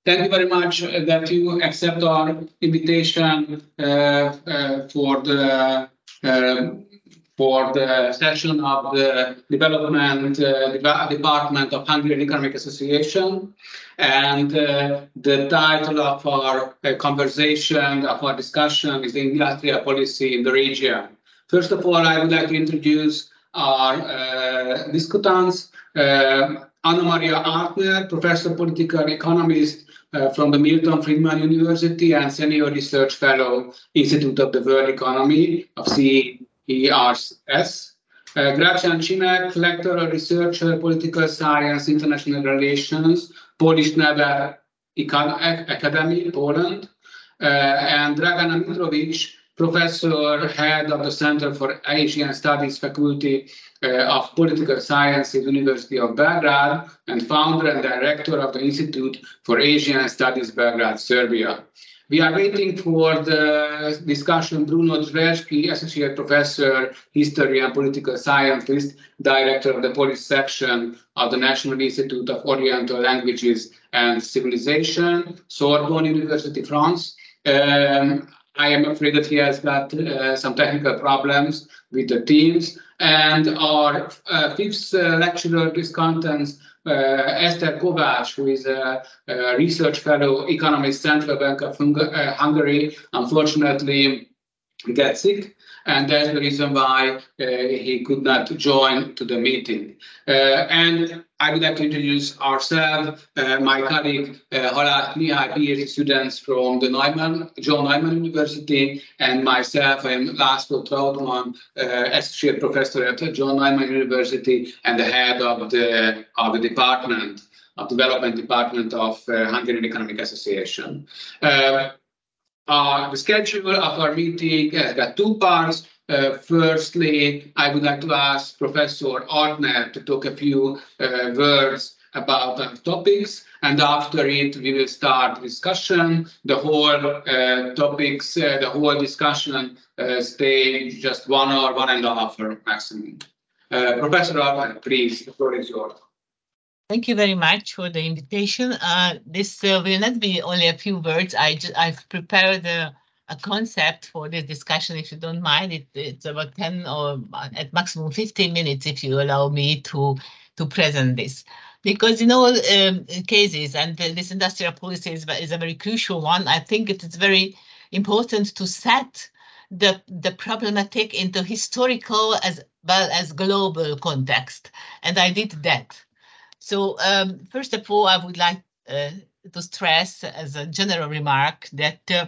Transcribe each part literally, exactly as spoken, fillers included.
Thank you very much that you accept our invitation uh, uh, for the uh, for the session of the Development uh, Department of Hungarian Economic Association. And uh, the title of our uh, conversation, of our discussion, is Industrial Policy in the Region. First of all, I would like to introduce our uh, discutants. Uh, Anna Maria Artner, Professor Political Economist uh, from the Milton Friedman University and Senior Research Fellow, Institute of the World Economy of C E R S. Uh, Gracjan Csimek, Lecturer, Researcher, Political Science, International Relations, Polish Neve Academy, Poland. Uh, and Dragana Mitrovic, Professor, Head of the Center for Asian Studies Faculty uh, of Political Science at the University of Belgrade, and founder and director of the Institute for Asian Studies, Belgrade, Serbia. We are waiting for the discussion. Bruno Zverski, Associate Professor, History and Political Scientist, Director of the Polish Section of the National Institute of Oriental Languages and Civilization, Sorbonne University, France. Um, I am afraid that he has got uh, some technical problems with the Teams. And our uh, fifth uh, lecturer of this content, uh, Esther Kovács, who is a, a research fellow, economist, Central Bank of Hung uh, Hungary, unfortunately gets sick. And that's the reason why uh, he could not join to the meeting. Uh, and I would like to introduce ourselves, uh, my colleague uh, Haláth Mihály, PhD students from the Neumann, John Neumann University, and myself, I am László Trautmann, uh, Associate Professor at John Neumann University and the head of the, of the department, of Development Department of uh, Hungarian Economic Association. Uh, Uh, the schedule of our meeting has got two parts. Uh, firstly, I would like to ask Professor Artner to talk a few uh, words about the topics, and after it, we will start discussion. The whole uh, topics, uh, the whole discussion uh, stay just one hour, one and a half hour maximum. Uh, Professor Artner, please, the floor is yours. Thank you very much for the invitation. Uh, this uh, will not be only a few words. I just, I've prepared a, a concept for this discussion, if you don't mind. It, it's about ten or at maximum fifteen minutes, if you allow me to, to present this. Because in all um, cases, and this industrial policy is, is a very crucial one, I think it is very important to set the, the problematic into historical as well as global context. And I did that. So um, first of all, I would like uh, to stress as a general remark that uh,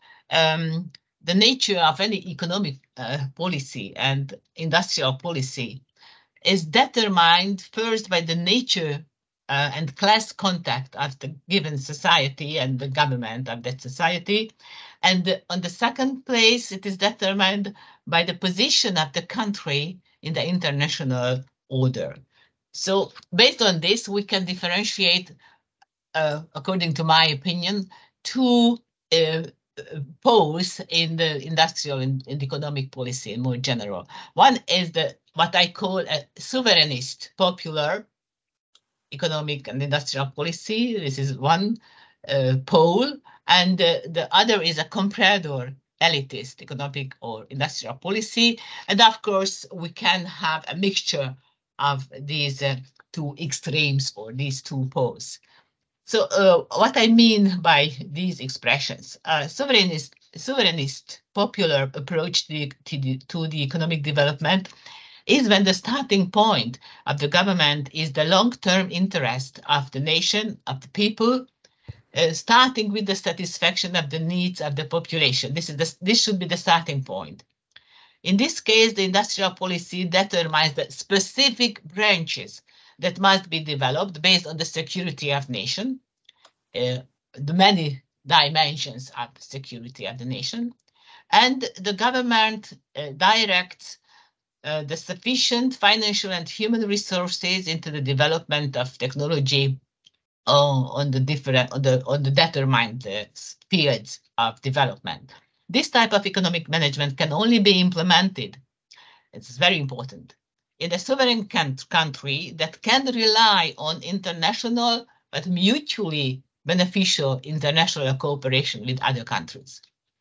um, the nature of any economic uh, policy and industrial policy is determined first by the nature uh, and class contact of the given society and the government of that society. And uh, on the second place, it is determined by the position of the country in the international order. So based on this, we can differentiate, uh, according to my opinion, two uh, poles in the industrial and, and economic policy in more general. One is the what I call a sovereignist popular economic and industrial policy. This is one uh, pole, and uh, the other is a comprador elitist economic or industrial policy. And of course, we can have a mixture of these uh, two extremes or these two poles. So uh, what I mean by these expressions, uh, sovereignist, sovereignist popular approach to the, to, the, to the economic development is when the starting point of the government is the long-term interest of the nation, of the people, uh, starting with the satisfaction of the needs of the population. This is the, this should be the starting point. In this case, the industrial policy determines the specific branches that must be developed based on the security of nation, uh, the many dimensions of security of the nation, and the government uh, directs uh, the sufficient financial and human resources into the development of technology uh, on the different on the on the determined uh, fields of development. This type of economic management can only be implemented, it's very important, in a sovereign country that can rely on international but mutually beneficial international cooperation with other countries.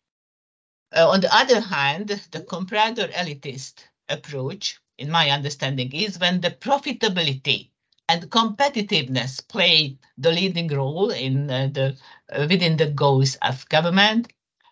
Uh, on the other hand, the comprador elitist approach, in my understanding, is when the profitability and competitiveness play the leading role in uh, the uh, within the goals of government,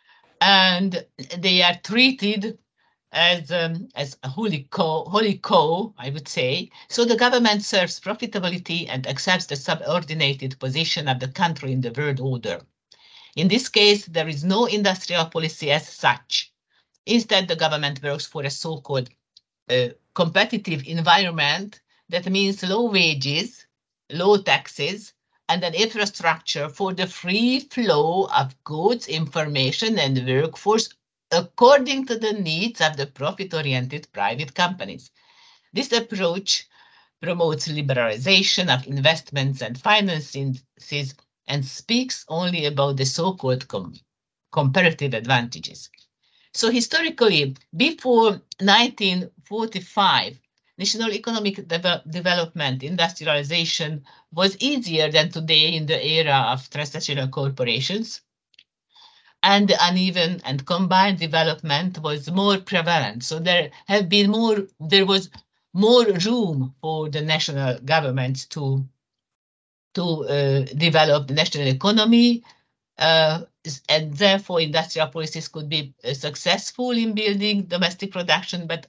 and they are treated as um, as a holy cow, holy cow, I would say. So the government serves profitability and accepts the subordinated position of the country in the world order. In this case, there is no industrial policy as such. Instead, the government works for a so-called uh, competitive environment that means low wages, low taxes, and an infrastructure for the free flow of goods, information, and workforce according to the needs of the profit-oriented private companies. This approach promotes liberalization of investments and finances and speaks only about the so-called com comparative advantages. So historically, before nineteen forty-five, national economic de development, industrialization was easier than today in the era of transnational corporations, and the uneven and combined development was more prevalent. So there have been more, there was more room for the national governments to to uh, develop the national economy, uh, and therefore industrial policies could be uh, successful in building domestic production, but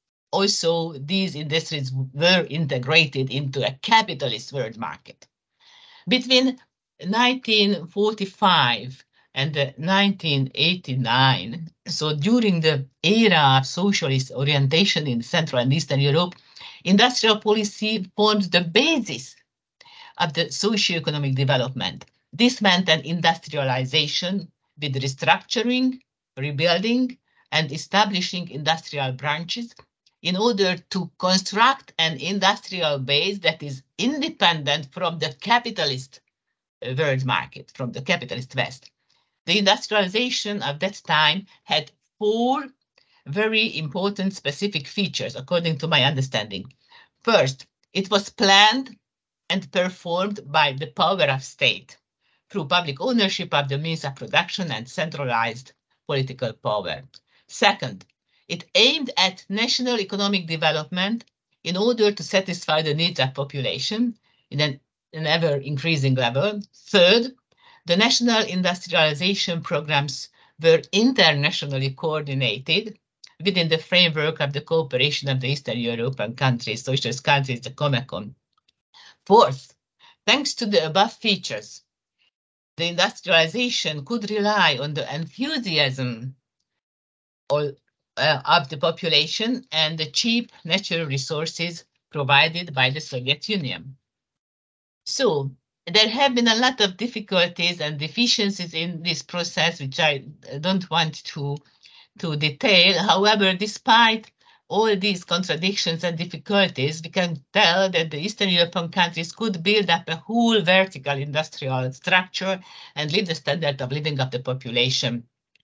also these industries were integrated into a capitalist world market. Between nineteen forty-five and uh, nineteen eighty-nine, so during the era of socialist orientation in Central and Eastern Europe, industrial policy formed the basis of the socio-economic development. This meant an industrialization with restructuring, rebuilding, and establishing industrial branches in order to construct an industrial base that is independent from the capitalist world market, from the capitalist West. The industrialization of that time had four very important specific features, according to my understanding. First, it was planned and performed by the power of state through public ownership of the means of production and centralized political power. Second, it aimed at national economic development in order to satisfy the needs of population in an, an ever-increasing level. Third, the national industrialization programs were internationally coordinated within the framework of the cooperation of the Eastern European countries, socialist countries, the COMECON. Fourth, thanks to the above features, the industrialization could rely on the enthusiasm or, uh, of the population and the cheap natural resources provided by the Soviet Union. So there have been a lot of difficulties and deficiencies in this process, which I don't want to, to detail. However, despite all these contradictions and difficulties, we can tell that the Eastern European countries could build up a whole vertical industrial structure and lift the standard of living of the population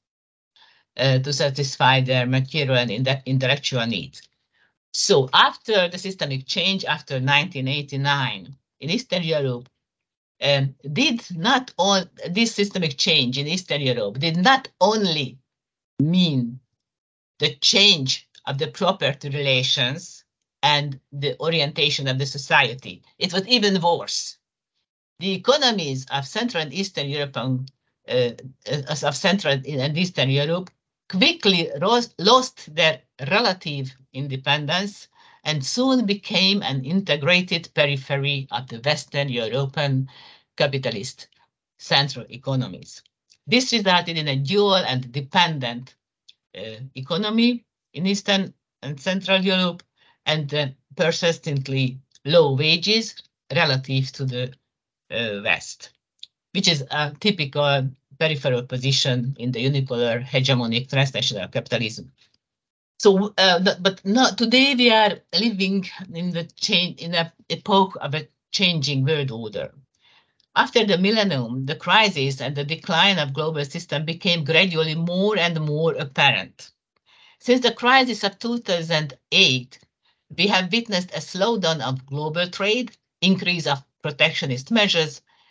uh, to satisfy their material and intellectual needs. So after the systemic change, after nineteen eighty-nine, in Eastern Europe, um, did not all this systemic change in Eastern Europe did not only mean the change of the property relations and the orientation of the society. It was even worse. The economies of Central and Eastern European, uh, of Central and Eastern Europe quickly rose, lost their relative independence and soon became an integrated periphery of the Western European capitalist central economies. This resulted in a dual and dependent uh, economy in Eastern and Central Europe, and uh, persistently low wages relative to the uh, West, which is a typical peripheral position in the unipolar hegemonic transnational capitalism. So, uh, the, but not today we are living in the change in an epoch of a changing world order. After the millennium, the crisis and the decline of global system became gradually more and more apparent. Since the crisis of two thousand eight, we have witnessed a slowdown of global trade, increase of protectionist measures,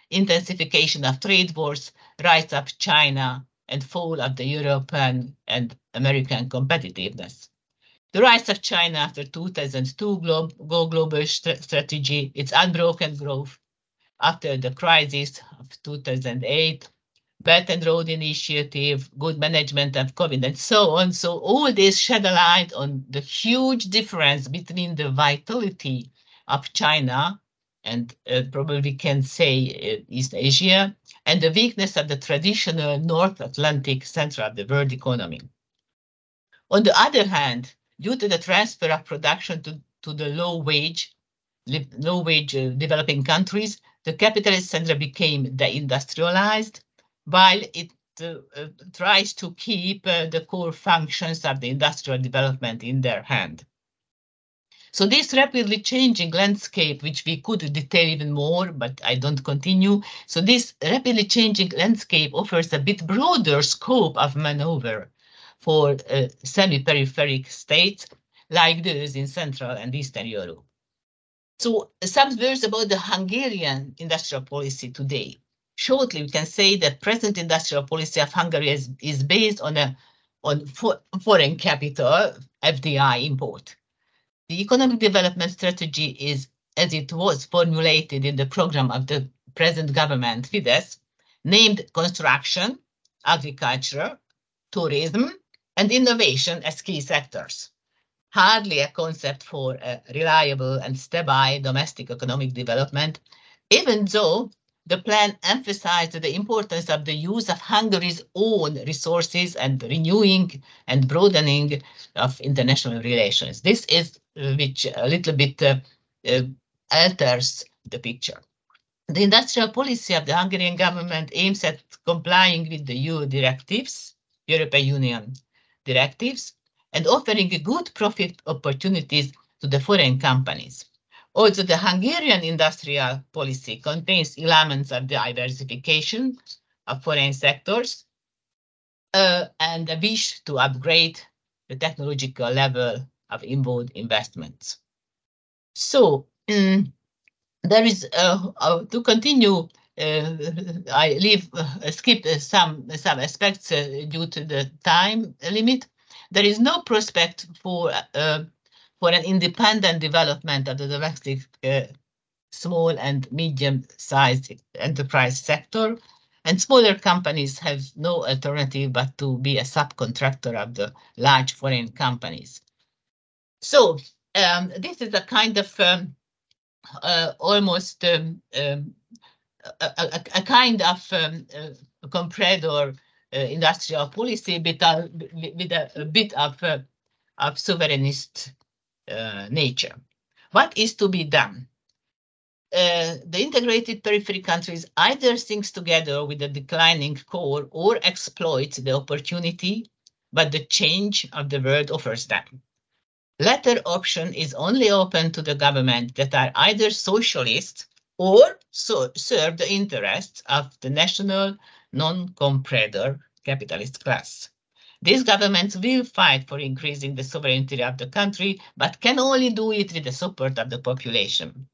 intensification of trade wars, rise of China, and fall of the European and American competitiveness. The rise of China after two thousand two Glo Go Global st strategy, its unbroken growth after the crisis of two thousand eight, Belt and Road Initiative, good management of COVID, and so on. So all this shed a light on the huge difference between the vitality of China and uh, probably we can say uh, East Asia, and the weakness of the traditional North Atlantic center of the world economy. On the other hand, due to the transfer of production to, to the low wage, low wage uh, developing countries, the capitalist center became deindustrialized, while it uh, uh, tries to keep uh, the core functions of the industrial development in their hand. So this rapidly changing landscape, which we could detail even more, but I don't continue. So this rapidly changing landscape offers a bit broader scope of maneuver for uh, semi-peripheric states like those in Central and Eastern Europe. So some words about the Hungarian industrial policy today. Shortly, we can say that present industrial policy of Hungary is, is based on a on for, foreign capital, F D I import. The economic development strategy is as it was formulated in the program of the present government, Fidesz, named construction, agriculture, tourism, and innovation as key sectors. Hardly a concept for a reliable and stable domestic economic development, even though the plan emphasized the importance of the use of Hungary's own resources and renewing and broadening of international relations. This is uh, which a little bit uh, uh, alters the picture. The industrial policy of the Hungarian government aims at complying with the E U directives, European Union directives, and offering good profit opportunities to the foreign companies. Also, the Hungarian industrial policy contains elements of diversification of foreign sectors uh, and a wish to upgrade the technological level of inward investments. So, um, there is, uh, uh, to continue, uh, I leave, uh, skip uh, some, some aspects uh, due to the time limit. There is no prospect for uh, for an independent development of the domestic uh, small and medium-sized enterprise sector, and smaller companies have no alternative but to be a subcontractor of the large foreign companies. So um, this is a kind of um, uh, almost um, um, a, a, a kind of um, uh, comprador uh, industrial policy with a, with a, a bit of, uh, of sovereignist Uh, nature. What is to be done? Uh, the integrated periphery countries either think together with the declining core or exploit the opportunity, but the change of the world offers them. Latter option is only open to the government that are either socialist or so serve the interests of the national non-comprador capitalist class. These governments will fight for increasing the sovereignty of the country, but can only do it with the support of the population.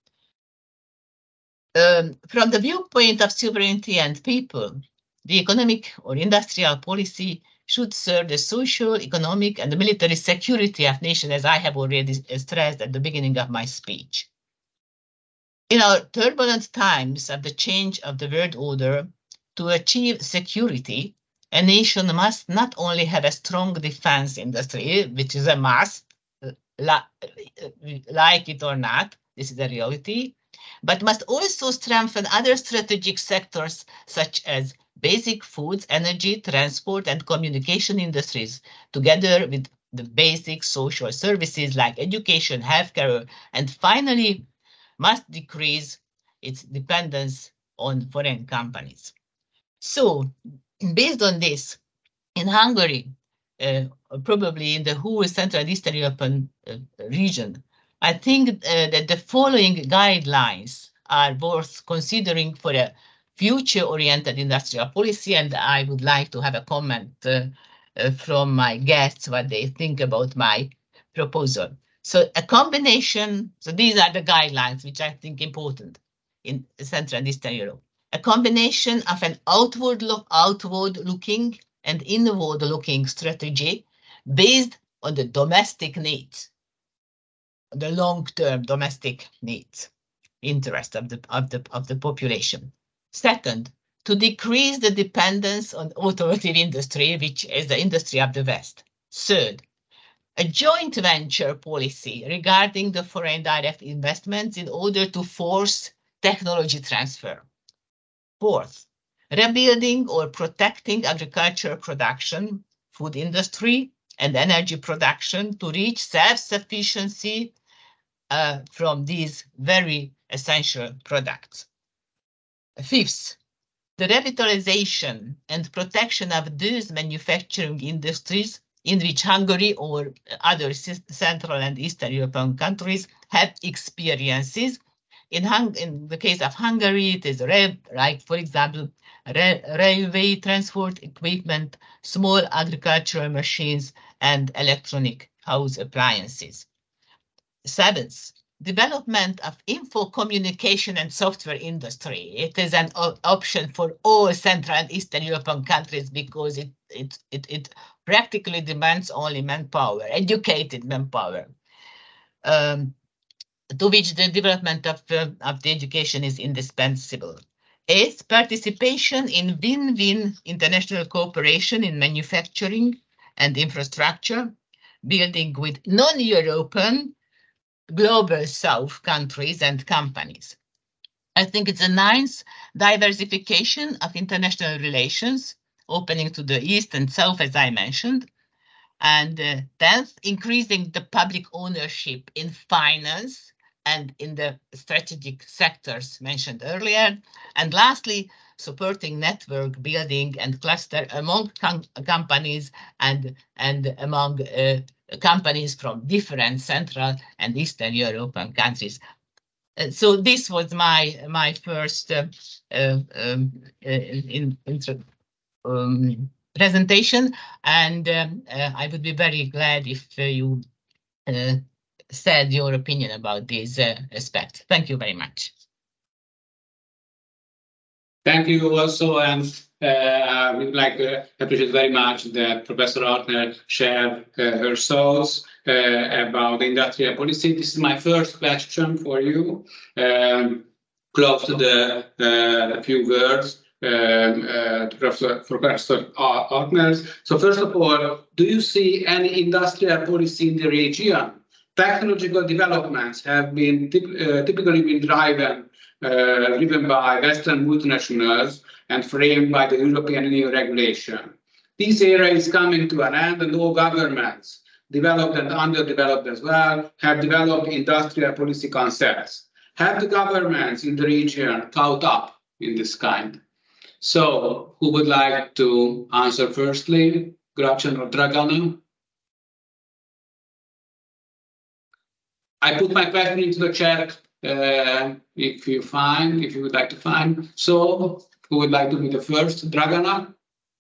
Um, from the viewpoint of sovereignty and people, the economic or industrial policy should serve the social, economic, and the military security of nations, as I have already stressed at the beginning of my speech. In our turbulent times of the change of the world order, to achieve security, a nation must not only have a strong defense industry, which is a must, like it or not, this is a reality, but must also strengthen other strategic sectors such as basic foods, energy, transport, and communication industries, together with the basic social services like education, healthcare, and finally must decrease its dependence on foreign companies. So, based on this, in Hungary, uh, probably in the whole Central and Eastern European uh, region, I think uh, that the following guidelines are worth considering for a future-oriented industrial policy, and I would like to have a comment uh, uh, from my guests what they think about my proposal. So a combination, so these are the guidelines which I think important in Central and Eastern Europe. a combination of an outward look, outward looking and inward looking strategy based on the domestic needs, the long-term domestic needs, interest of the, of the, of the population. Second, to decrease the dependence on automotive industry, which is the industry of the West. Third, a joint venture policy regarding the foreign direct investments in order to force technology transfer. Fourth, rebuilding or protecting agricultural production, food industry, and energy production to reach self-sufficiency uh, from these very essential products. Fifth, the revitalization and protection of those manufacturing industries in which Hungary or other Central and Eastern European countries have experiences. In, Hung in the case of Hungary, it is like, for example, railway transport equipment, small agricultural machines, and electronic house appliances. Seventh, development of info communication and software industry. It is an option for all Central and Eastern European countries because it, it, it, it practically demands only manpower, educated manpower, um, to which the development of, uh, of the education is indispensable. Eighth, participation in win-win international cooperation in manufacturing and infrastructure, building with non-European global South countries and companies. I think it's a ninth, diversification of international relations, opening to the East and South, as I mentioned. And uh, tenth, increasing the public ownership in finance and in the strategic sectors mentioned earlier. And lastly, supporting network building and cluster among com companies and, and among uh, companies from different Central and Eastern European countries. Uh, so this was my my first uh, uh, um, uh, in, in, um, presentation, and um, uh, I would be very glad if uh, you uh, said your opinion about this uh, aspect. Thank you very much. Thank you also, and uh, we'd like to appreciate very much that Professor Ortner shared uh, her thoughts uh, about industrial policy. This is my first question for you, um, close to the uh, few words um, uh, to Professor, Professor Ortner. So first of all, do you see any industrial policy in the region? Technological developments have been typ uh, typically been driven Uh, driven by Western multinationals and framed by the European Union regulation. This era is coming to an end, and all governments, developed and underdeveloped as well, have developed industrial policy concepts. Have the governments in the region caught up in this kind? So, who would like to answer firstly? Gracjan or Dragana? I put my question into the chat. Uh, if you find, if you would like to find. So, who would like to be the first? Dragana?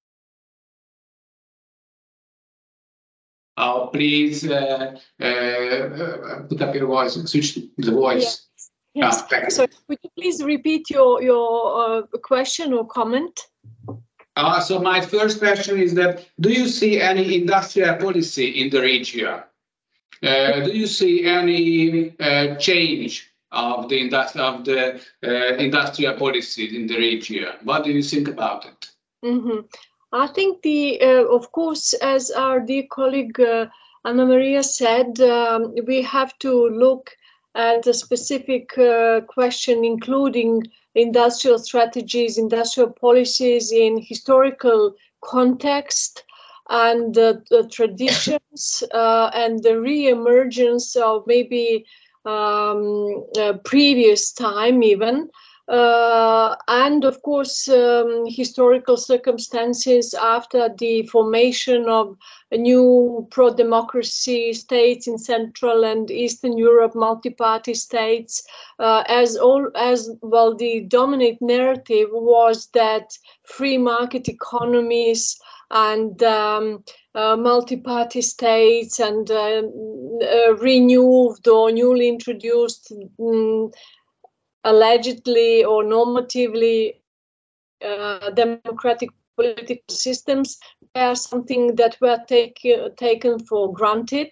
Oh, please uh, uh, put up your voice, switch the voice. Yes. yes. Ah, so, would you please repeat your, your uh, question or comment? Uh, so, my first question is that, do you see any industrial policy in the region? Uh, do you see any uh, change of the, industri of the uh, industrial policies in the region? What do you think about it? Mm-hmm. I think the, uh, of course, as our dear colleague uh, Anna Maria said, um, we have to look at a specific uh, question, including industrial strategies, industrial policies in historical context, and uh, the traditions uh, and the re-emergence of maybe um, uh, previous time even, uh, and of course um, historical circumstances after the formation of a new pro-democracy states in Central and Eastern Europe, multi-party states, uh, as all as well. The dominant narrative was that free market economies and um, uh, multi-party states and uh, uh, renewed or newly introduced, um, allegedly or normatively uh, democratic political systems are something that were take, uh, taken for granted,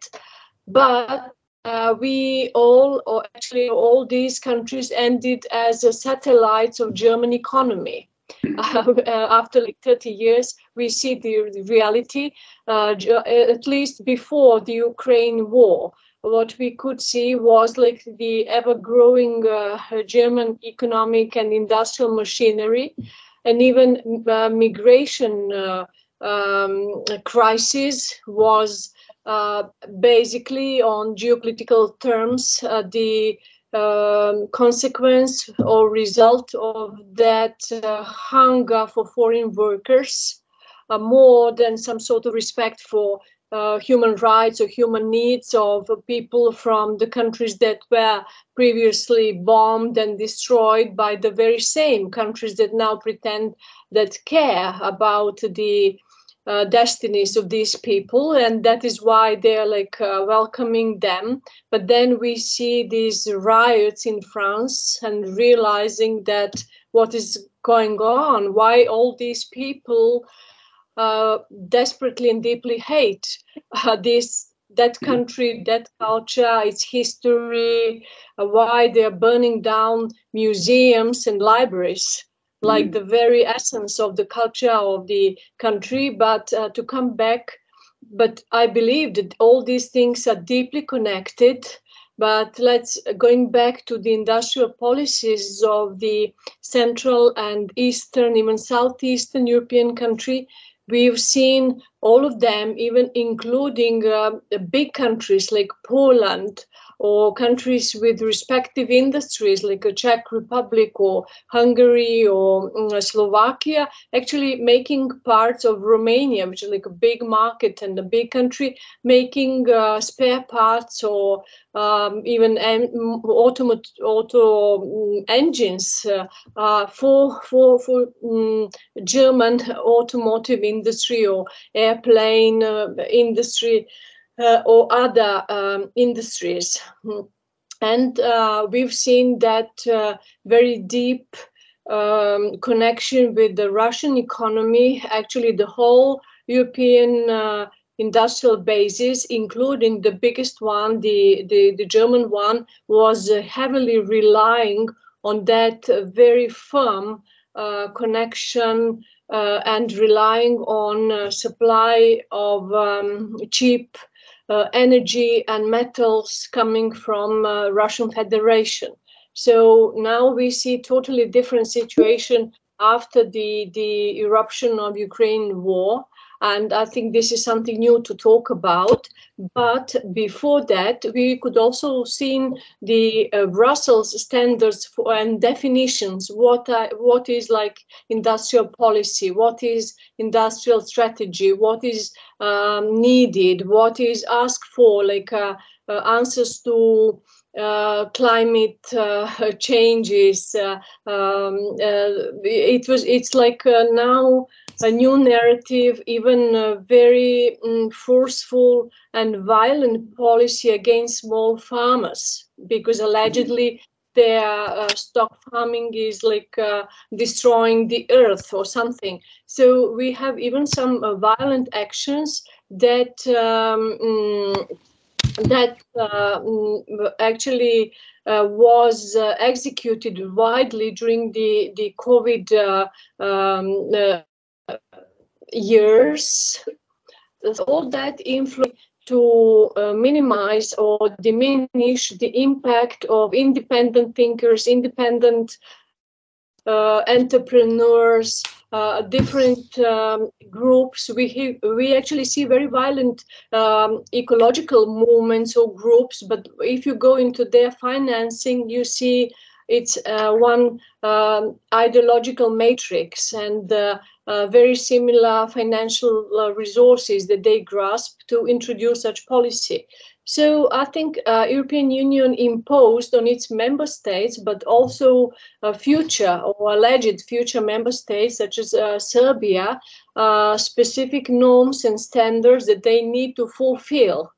but uh, we all, or actually all these countries, ended as uh, satellites of German economy. Uh, after like thirty years, we see the, the reality, uh, at least before the Ukraine war. What we could see was like the ever-growing uh, German economic and industrial machinery, and even uh, migration uh, um, crisis was uh, basically on geopolitical terms uh, the um, consequence or result of that uh, hunger for foreign workers, uh, more than some sort of respect for Uh, human rights or human needs of people from the countries that were previously bombed and destroyed by the very same countries that now pretend that care about the uh, destinies of these people, and that is why they're like uh, welcoming them. But then we see these riots in France and realizing that what is going on, why all these people Uh, desperately and deeply hate uh, this, that country, that culture, its history, uh, why they are burning down museums and libraries, like the very essence of the culture of the country. But uh, to come back, but I believe that all these things are deeply connected. But let's, going back to the industrial policies of the Central and Eastern, even Southeastern European country, we've seen all of them, even including uh, big countries like Poland, or countries with respective industries like the Czech Republic or Hungary or um, Slovakia, actually making parts of Romania, which is like a big market and a big country, making uh, spare parts or um, even um, auto, auto um, engines uh, uh, for for for um, German automotive industry or airplane uh, industry. Uh, or other um, industries. And uh, we've seen that uh, very deep um, connection with the Russian economy. Actually, the whole European uh, industrial basis, including the biggest one, the, the, the German one, was uh, heavily relying on that uh, very firm uh, connection uh, and relying on uh, supply of um, cheap Uh, energy and metals coming from uh, Russian Federation. So now we see totally different situation after the, the eruption of Ukraine war. And I think this is something new to talk about. But before that, we could also see the uh, Brussels standards for, and definitions. What uh, what is like industrial policy? What is industrial strategy? What is um, needed? What is asked for? Like uh, uh, answers to Uh, climate uh, changes. Uh, um, uh, it was. It's like uh, now a new narrative, even a very um, forceful and violent policy against small farmers, because allegedly their uh, stock farming is like uh, destroying the earth or something. So we have even some uh, violent actions that. Um, um, that uh, actually uh, was uh, executed widely during the, the COVID uh, um, uh, years. All that influence to uh, minimize or diminish the impact of independent thinkers, independent uh, entrepreneurs, Uh, different um, groups. We we actually see very violent um, ecological movements or groups, but if you go into their financing, you see it's uh, one um, ideological matrix and uh, uh, very similar financial uh, resources that they grasp to introduce such policy. So I think uh, European Union imposed on its member states, but also uh, future or alleged future member states, such as uh, Serbia, uh, specific norms and standards that they need to fulfill.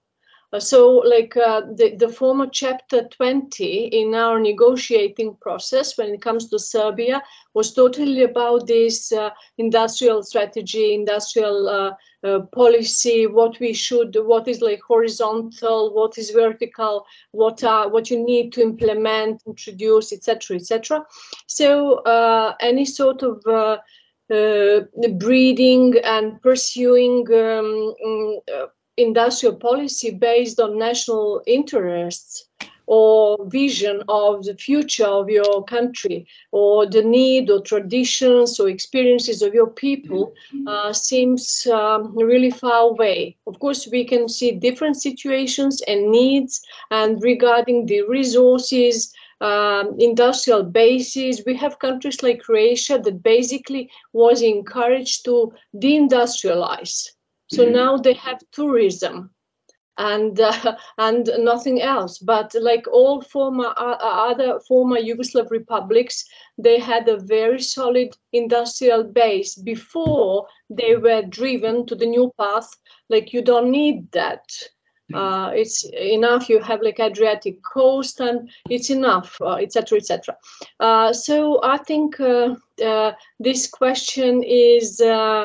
So, like uh, the, the former chapter twenty in our negotiating process when it comes to Serbia was totally about this uh, industrial strategy, industrial uh, uh, policy, what we should, what is like horizontal, what is vertical, what are what you need to implement, introduce, et cetera, et cetera. So, uh, any sort of uh, uh, breeding and pursuing um, uh, industrial policy based on national interests or vision of the future of your country or the need or traditions or experiences of your people uh, seems um, really far away. Of course, we can see different situations and needs, and regarding the resources, um, industrial bases, we have countries like Croatia that basically was encouraged to deindustrialize. So now they have tourism and uh, and nothing else. But like all former uh, other former Yugoslav republics, they had a very solid industrial base before they were driven to the new path. Like you don't need that. Uh, it's enough. You have like Adriatic coast, and it's enough, et cetera, et cetera. Uh, so I think uh, uh, this question is. Uh,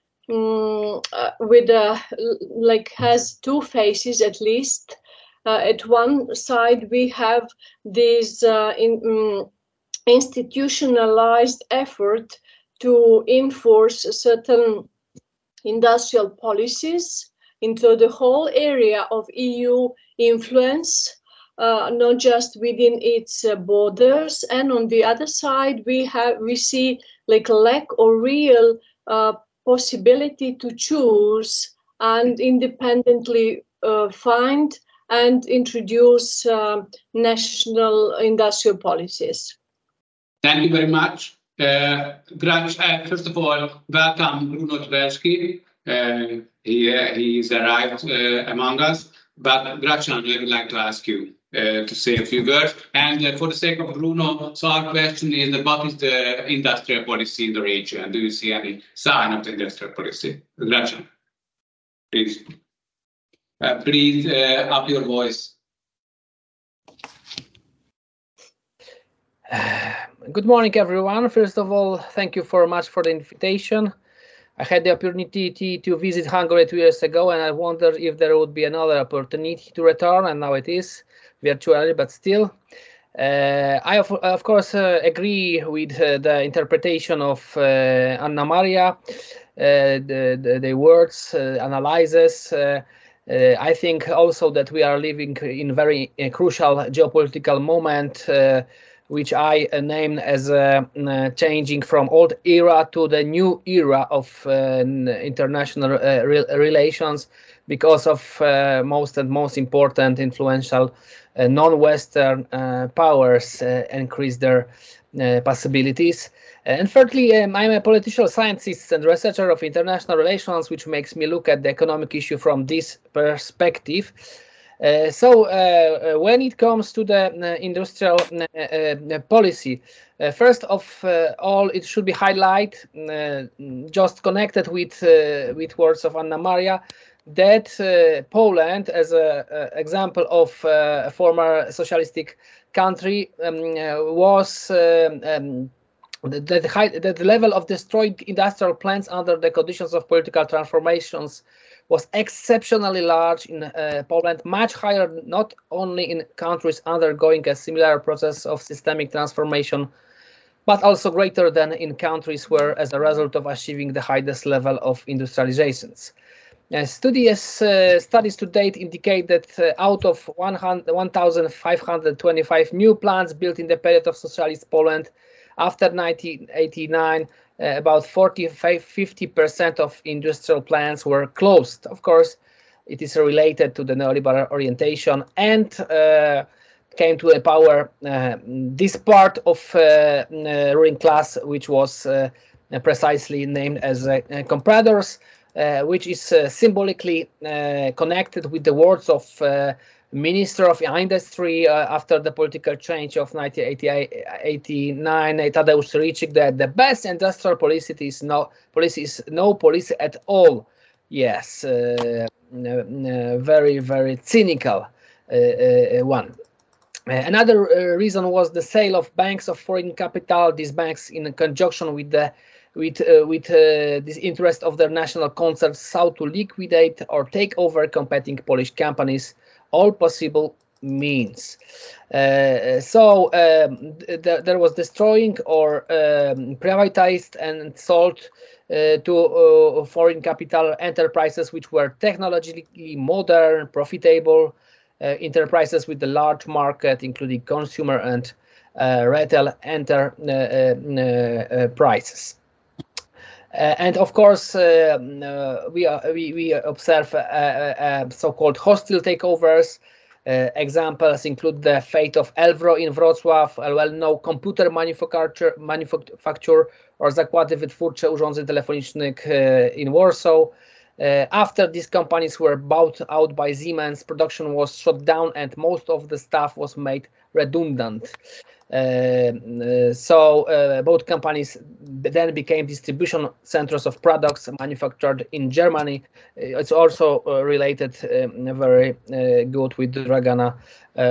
Mm, uh, with uh, like has two faces at least. Uh, at one side we have this uh, in, um, institutionalized effort to enforce certain industrial policies into the whole area of E U influence, uh, not just within its uh, borders. And on the other side we have we see like a lack or real uh, possibility to choose and independently uh, find and introduce uh, national industrial policies. Thank you very much. Uh, uh, first of all, welcome Bruno Tversky. Uh, he, uh, he's arrived uh, among us. But Gracian, I would like to ask you uh, to say a few words. And uh, for the sake of Bruno, so our question is, what is the industrial policy in the region? Do you see any sign of the industrial policy? Gracian, please. Uh, please uh, up your voice. Good morning, everyone. First of all, thank you very much for the invitation. I had the opportunity to visit Hungary two years ago, and I wondered if there would be another opportunity to return, and now it is, virtually, but still. Uh, I, of, of course, uh, agree with uh, the interpretation of uh, Anna Maria, uh, the, the, the words, uh, analyses. Uh, uh, I think also that we are living in a very uh, crucial geopolitical moment, uh, which I uh, named as uh, uh, changing from old era to the new era of uh, international uh, re relations because of uh, most and most important influential uh, non-Western uh, powers uh, increase their uh, possibilities. And thirdly, um, I'm a political scientist and researcher of international relations, which makes me look at the economic issue from this perspective. Uh, so uh, when it comes to the uh, industrial uh, uh, policy, uh, first of uh, all, it should be highlighted, uh, just connected with uh, with words of Anna Maria, that uh, Poland, as an example of uh, a former socialistic country, um, uh, was um, um, the, the, high, the level of destroyed industrial plants under the conditions of political transformations was exceptionally large in uh, Poland, much higher not only in countries undergoing a similar process of systemic transformation, but also greater than in countries where, as a result of achieving the highest level of industrializations. Uh, studies, uh, studies to date indicate that uh, out of one thousand five hundred twenty-five new plants built in the period of socialist Poland after nineteen eighty-nine, Uh, about forty-five to fifty percent of industrial plants were closed. Of course, it is related to the neoliberal orientation and uh, came to a power uh, this part of uh, uh, ruling class, which was uh, precisely named as uh, compradors, uh, which is uh, symbolically uh, connected with the words of uh, Minister of Industry uh, after the political change of nineteen eighty-nine, Tadeusz Ricik, that the best industrial policy is no policy is no policy at all. Yes, uh, very, very cynical one. Another reason was the sale of banks of foreign capital. These banks, in conjunction with the with uh, with uh, this interest of their national concerns, sought to liquidate or take over competing Polish companies, all possible means. Uh, so um, th there was destroying or um, privatized and sold uh, to uh, foreign capital enterprises which were technologically modern, profitable uh, enterprises with a large market, including consumer and uh, retail enterprises. Uh, and of course, uh, uh, we, uh, we, we observe uh, uh, so-called hostile takeovers. Uh, examples include the fate of Elvro in Wrocław, a well-known computer manufacturer, manufacturer or Zakłady Wytwórcze Urządzeń Telefonicznych uh, in Warsaw. Uh, after these companies were bought out by Siemens, production was shut down and most of the staff was made redundant. Uh, uh, so uh, both companies then became distribution centers of products manufactured in Germany. Uh, it's also uh, related um, very uh, good with the Dragana uh,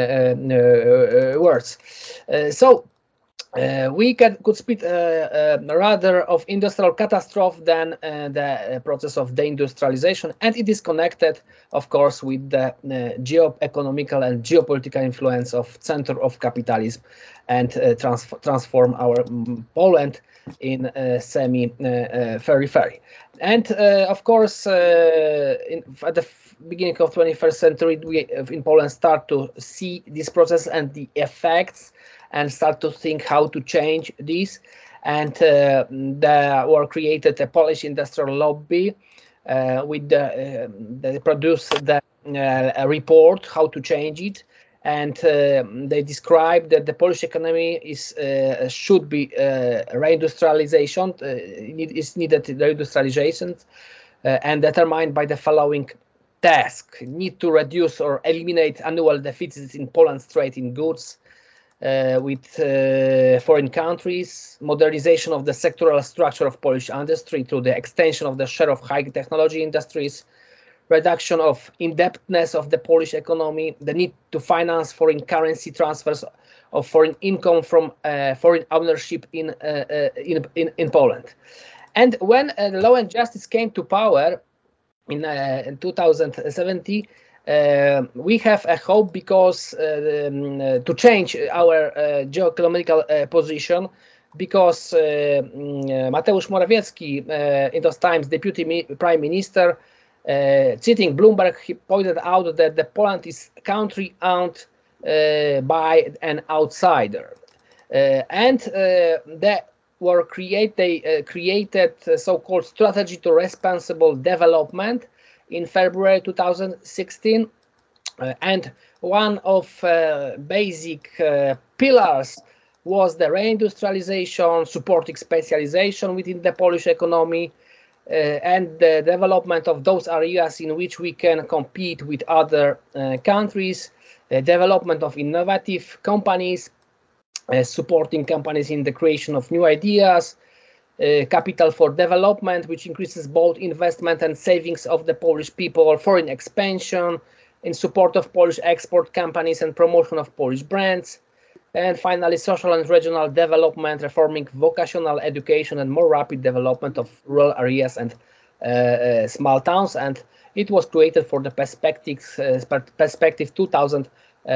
uh, uh, words. Uh, so uh, we can, could speak uh, uh, rather of industrial catastrophe than uh, the process of deindustrialization, and it is connected, of course, with the uh, geo-economical and geopolitical influence of center of capitalism and uh, trans transform our um, Poland in uh, semi-periphery. Uh, and uh, of course, uh, in, at the beginning of twenty-first century, we in Poland start to see this process and the effects, and start to think how to change this. And uh, there were created a Polish industrial lobby uh, with the, uh, they produced the uh, a report how to change it. And uh, they describe that the Polish economy is uh, should be uh, reindustrialization, uh, is needed reindustrialization, uh, and determined by the following task: need to reduce or eliminate annual deficits in Poland's trade in goods uh, with uh, foreign countries, modernization of the sectoral structure of Polish industry through the extension of the share of high technology industries, reduction of indebtedness of the Polish economy, the need to finance foreign currency transfers of foreign income from uh, foreign ownership in, uh, uh, in, in, in Poland. And when uh, the Law and Justice came to power in, uh, in two thousand seventeen, uh, we have a hope because uh, um, uh, to change our uh, geoeconomical uh, position, because uh, Mateusz Morawiecki, uh, in those times Deputy Mi- Prime Minister, Uh, citing Bloomberg, he pointed out that the Poland is a country owned uh, by an outsider, uh, and uh, they were create they uh, created a so-called strategy to responsible development in February two thousand sixteen, uh, and one of uh, basic uh, pillars was the reindustrialization, supporting specialization within the Polish economy. Uh, and the development of those areas in which we can compete with other uh, countries, uh, development of innovative companies, uh, supporting companies in the creation of new ideas, uh, capital for development, which increases both investment and savings of the Polish people, foreign expansion, in support of Polish export companies and promotion of Polish brands. And finally, social and regional development, reforming vocational education and more rapid development of rural areas and uh, uh, small towns. And it was created for the perspectives, uh, perspective two thousand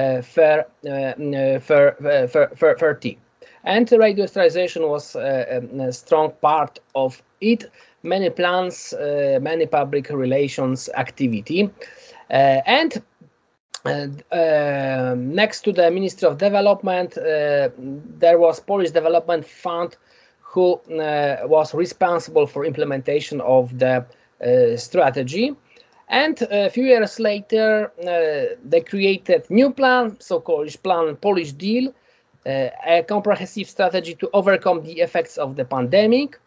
thirty. And reindustrialization was uh, a strong part of it. Many plans, uh, many public relations activity. Uh, and Uh, uh, next to the Ministry of Development, uh, there was Polish Development Fund, who uh, was responsible for implementation of the uh, strategy. And a few years later, uh, they created new plan, so-called plan Polish Deal, uh, a comprehensive strategy to overcome the effects of the pandemic.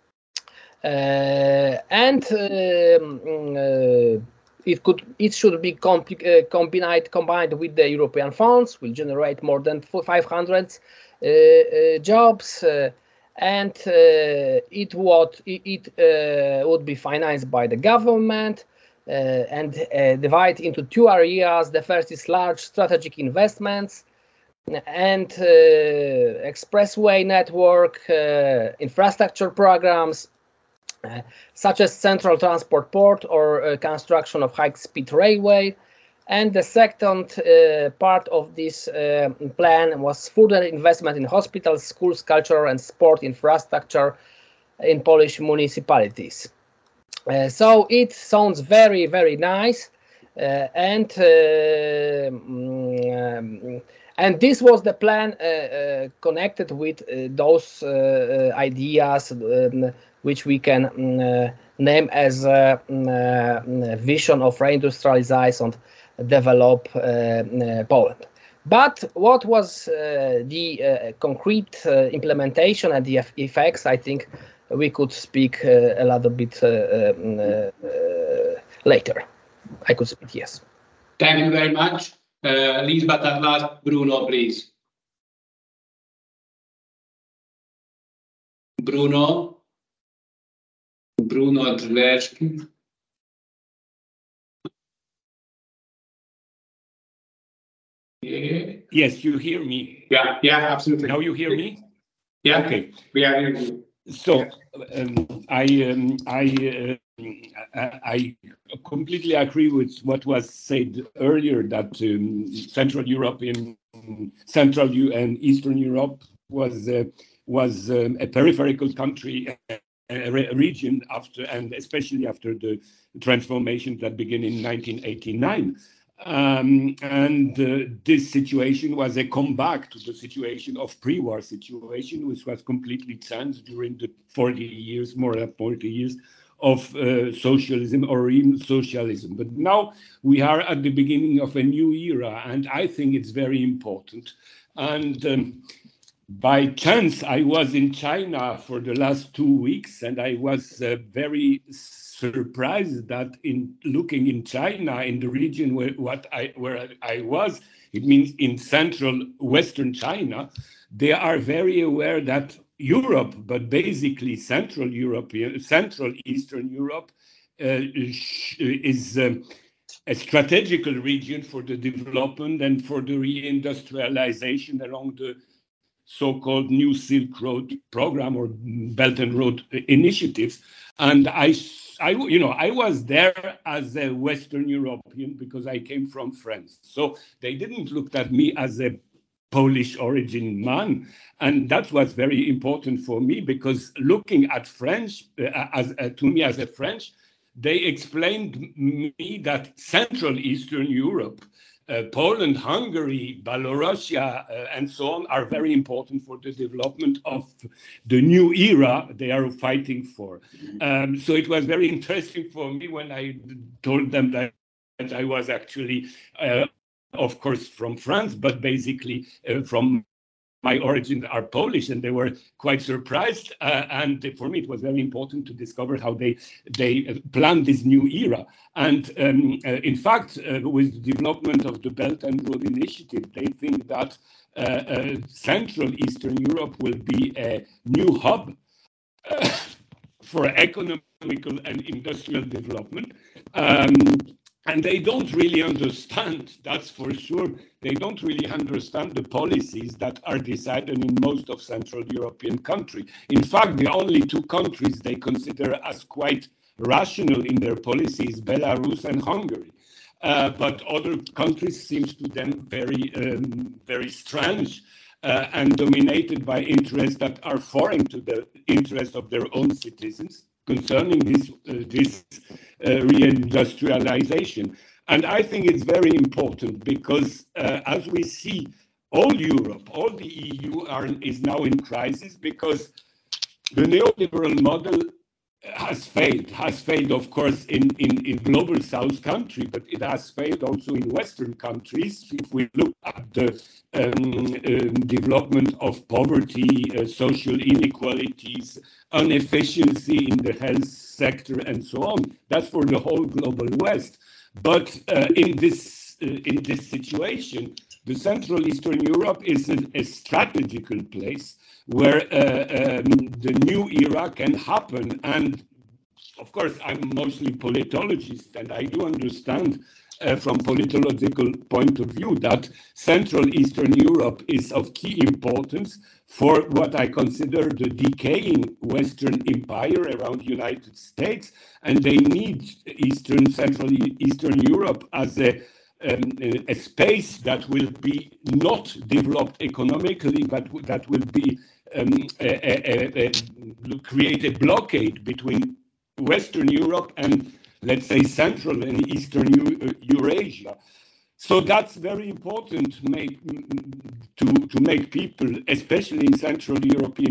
Uh, and um, uh, It could, it should be comp uh, combined, combined with the European funds, will generate more than five hundred uh, uh, jobs, uh, and uh, it would it, it uh, would be financed by the government, uh, and uh, divide into two areas. The first is large strategic investments and uh, expressway network, uh, infrastructure programs, uh, such as Central Transport Port or uh, construction of high-speed railway. And the second uh, part of this uh, plan was further investment in hospitals, schools, cultural and sport infrastructure in Polish municipalities. Uh, so it sounds very, very nice. Uh, and uh, um, and this was the plan uh, uh, connected with uh, those uh, ideas um, which we can um, name as a uh, vision of reindustrialize and develop uh, uh, Poland. But what was uh, the uh, concrete uh, implementation and the effects, I think we could speak uh, a little bit uh, um, uh, later. I could speak, yes. Thank you very much. Uh, least but at last, Bruno, please. Bruno. Bruno Drzewski. Yeah. Yes, you hear me. Yeah, yeah, absolutely. Now you hear me? Yeah. Okay. We are hearing you. So um, I um, I uh, I completely agree with what was said earlier, that um, Central Europe in Central and Eastern Europe was uh, was um, a peripheral country, a re region after, and especially after the transformations that began in nineteen eighty-nine. Um, and uh, this situation was a comeback to the situation of pre-war situation, which was completely changed during the forty years, more than forty years of uh, socialism or even socialism. But now we are at the beginning of a new era, and I think it's very important. And um, by chance, I was in China for the last two weeks, and I was uh, very surprised that in looking in China, in the region where what I where I was, it means in central Western China, they are very aware that Europe, but basically Central Europe, Central Eastern Europe, uh, is um, a strategical region for the development and for the reindustrialization along the so-called New Silk Road program or Belt and Road initiatives. And I, I, you know, I was there as a Western European because I came from France. So they didn't look at me as a Polish origin man. And that was very important for me because looking at French, uh, as uh, to me as a French, they explained me that Central Eastern Europe, Uh, Poland, Hungary, Belarusia, uh, and so on are very important for the development of the new era they are fighting for. Um, so it was very interesting for me when I told them that I was actually, uh, of course, from France, but basically uh, from my origins are Polish, and they were quite surprised. Uh, and for me, it was very important to discover how they they planned this new era. And um, uh, in fact, uh, with the development of the Belt and Road Initiative, they think that uh, uh, Central Eastern Europe will be a new hub uh, for economical and industrial development. Um, And they don't really understand, that's for sure, they don't really understand the policies that are decided in most of Central European countries. In fact, the only two countries they consider as quite rational in their policies, Belarus and Hungary. Uh, but other countries seem to them very, um, very strange uh, and dominated by interests that are foreign to the interests of their own citizens concerning this, uh, this uh, reindustrialization. And I think it's very important because uh, as we see, all Europe, all the E U are, is now in crisis because the neoliberal model has failed, has failed, of course, in, in, in global South country, but it has failed also in Western countries. If we look at the um, um, development of poverty, uh, social inequalities, inefficiency in the health sector, and so on, that's for the whole global West. But uh, in this uh, in this situation, the Central Eastern Europe is a, a strategical place where uh, um, the new era can happen. And of course, I'm mostly politologist, and I do understand uh, from politological point of view that Central Eastern Europe is of key importance for what I consider the decaying Western empire around the United States, and they need Eastern, Central Eastern Europe as a Um, a space that will be not developed economically, but that will be um, a, a, a, a, create a blockade between Western Europe and, let's say, Central and Eastern Eurasia. So that's very important make, to to make people, especially in Central European,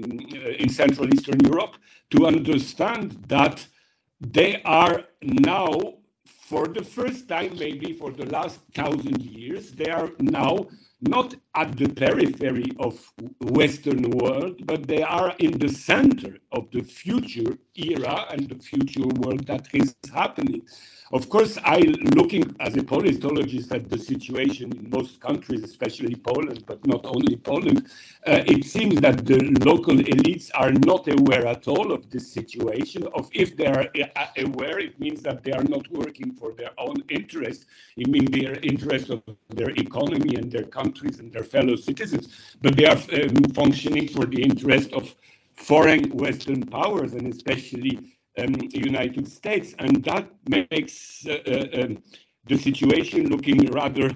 in Central Eastern Europe, to understand that they are now, for the first time, maybe for the last thousand years, they are now not at the periphery of Western world, but they are in the center of the future era and the future world that is happening. Of course, I, looking as a politologist at the situation in most countries, especially Poland, but not only Poland, uh, it seems that the local elites are not aware at all of this situation. Of if they are aware, it means that they are not working for their own interest. It means their interest of their economy and their countries and their fellow citizens, but they are um, functioning for the interest of foreign Western powers, and especially Um, United States, and that makes uh, uh, um, the situation looking rather.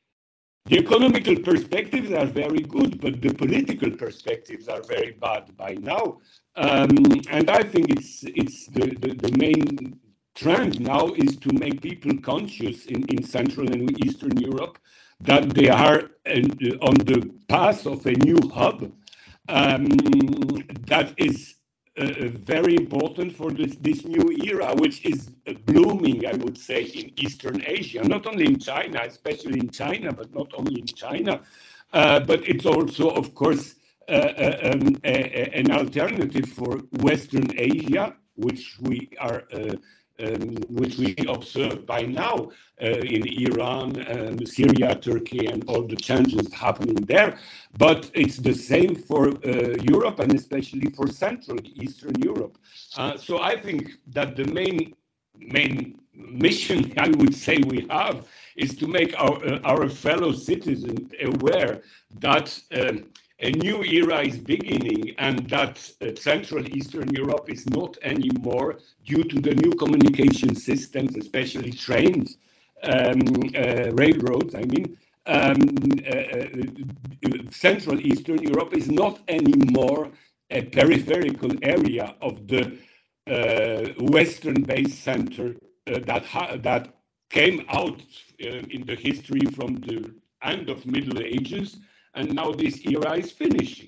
The economical perspectives are very good, but the political perspectives are very bad by now. Um, and I think it's it's the, the, the main trend now is to make people conscious in, in Central and Eastern Europe that they are uh, on the path of a new hub um, that is Uh, very important for this, this new era, which is uh, blooming, I would say, in Eastern Asia, not only in China, especially in China, but not only in China, uh, but it's also, of course, uh, uh, um, a, a, an alternative for Western Asia, which we are uh, Um, which we observe by now uh, in Iran, um, Syria, Turkey, and all the changes happening there. But it's the same for uh, Europe, and especially for Central Eastern Europe. Uh, so I think that the main main mission, I would say, we have is to make our uh, our fellow citizens aware that Um, a new era is beginning, and that uh, Central Eastern Europe is not anymore, due to the new communication systems, especially trains, um, uh, railroads, I mean, um, uh, uh, Central Eastern Europe is not anymore a peripheral area of the uh, Western-based center uh, that, ha that came out uh, in the history from the end of Middle Ages. And now this era is finishing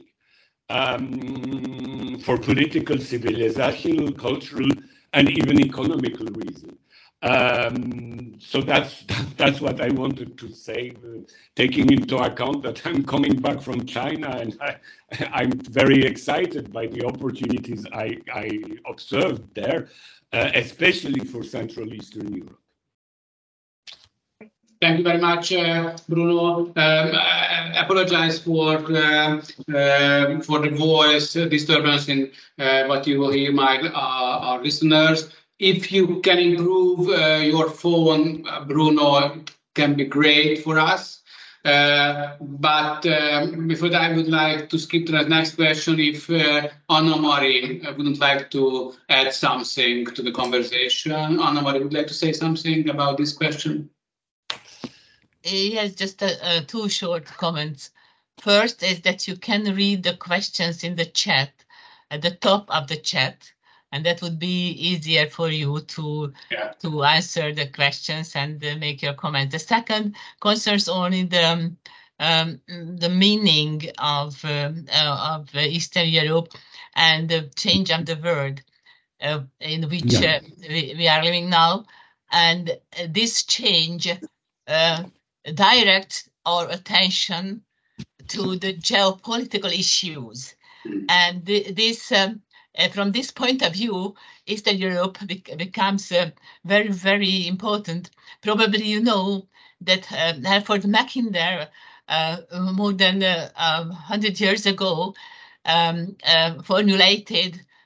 um, for political, civilizational, cultural, and even economical reasons. Um, so that's that's what I wanted to say, uh, taking into account that I'm coming back from China, and I, I'm very excited by the opportunities I, I observed there, uh, especially for Central Eastern Europe. Thank you very much, uh, Bruno. Um, I apologize for uh, uh, for the voice disturbance in uh, what you will hear, my uh, our listeners. If you can improve uh, your phone, uh, Bruno, can be great for us. Uh, but um, before that, I would like to skip to the next question. If uh, Anna-Mari wouldn't like to add something to the conversation. Anna-Mari, would like to say something about this question? Yes, just uh, uh, two short comments. First is that you can read the questions in the chat, at the top of the chat, and that would be easier for you to yeah. to answer the questions and uh, make your comments. The second concerns only the um, um, the meaning of um, uh, of Eastern Europe and the change of the world uh, in which yeah. uh, we, we are living now, and uh, this change Uh, direct our attention to the geopolitical issues. And th this, um, uh, from this point of view, Eastern Europe bec becomes uh, very, very important. Probably you know that uh, Halford Mackinder, uh, more than uh, one hundred years ago, um, uh, formulated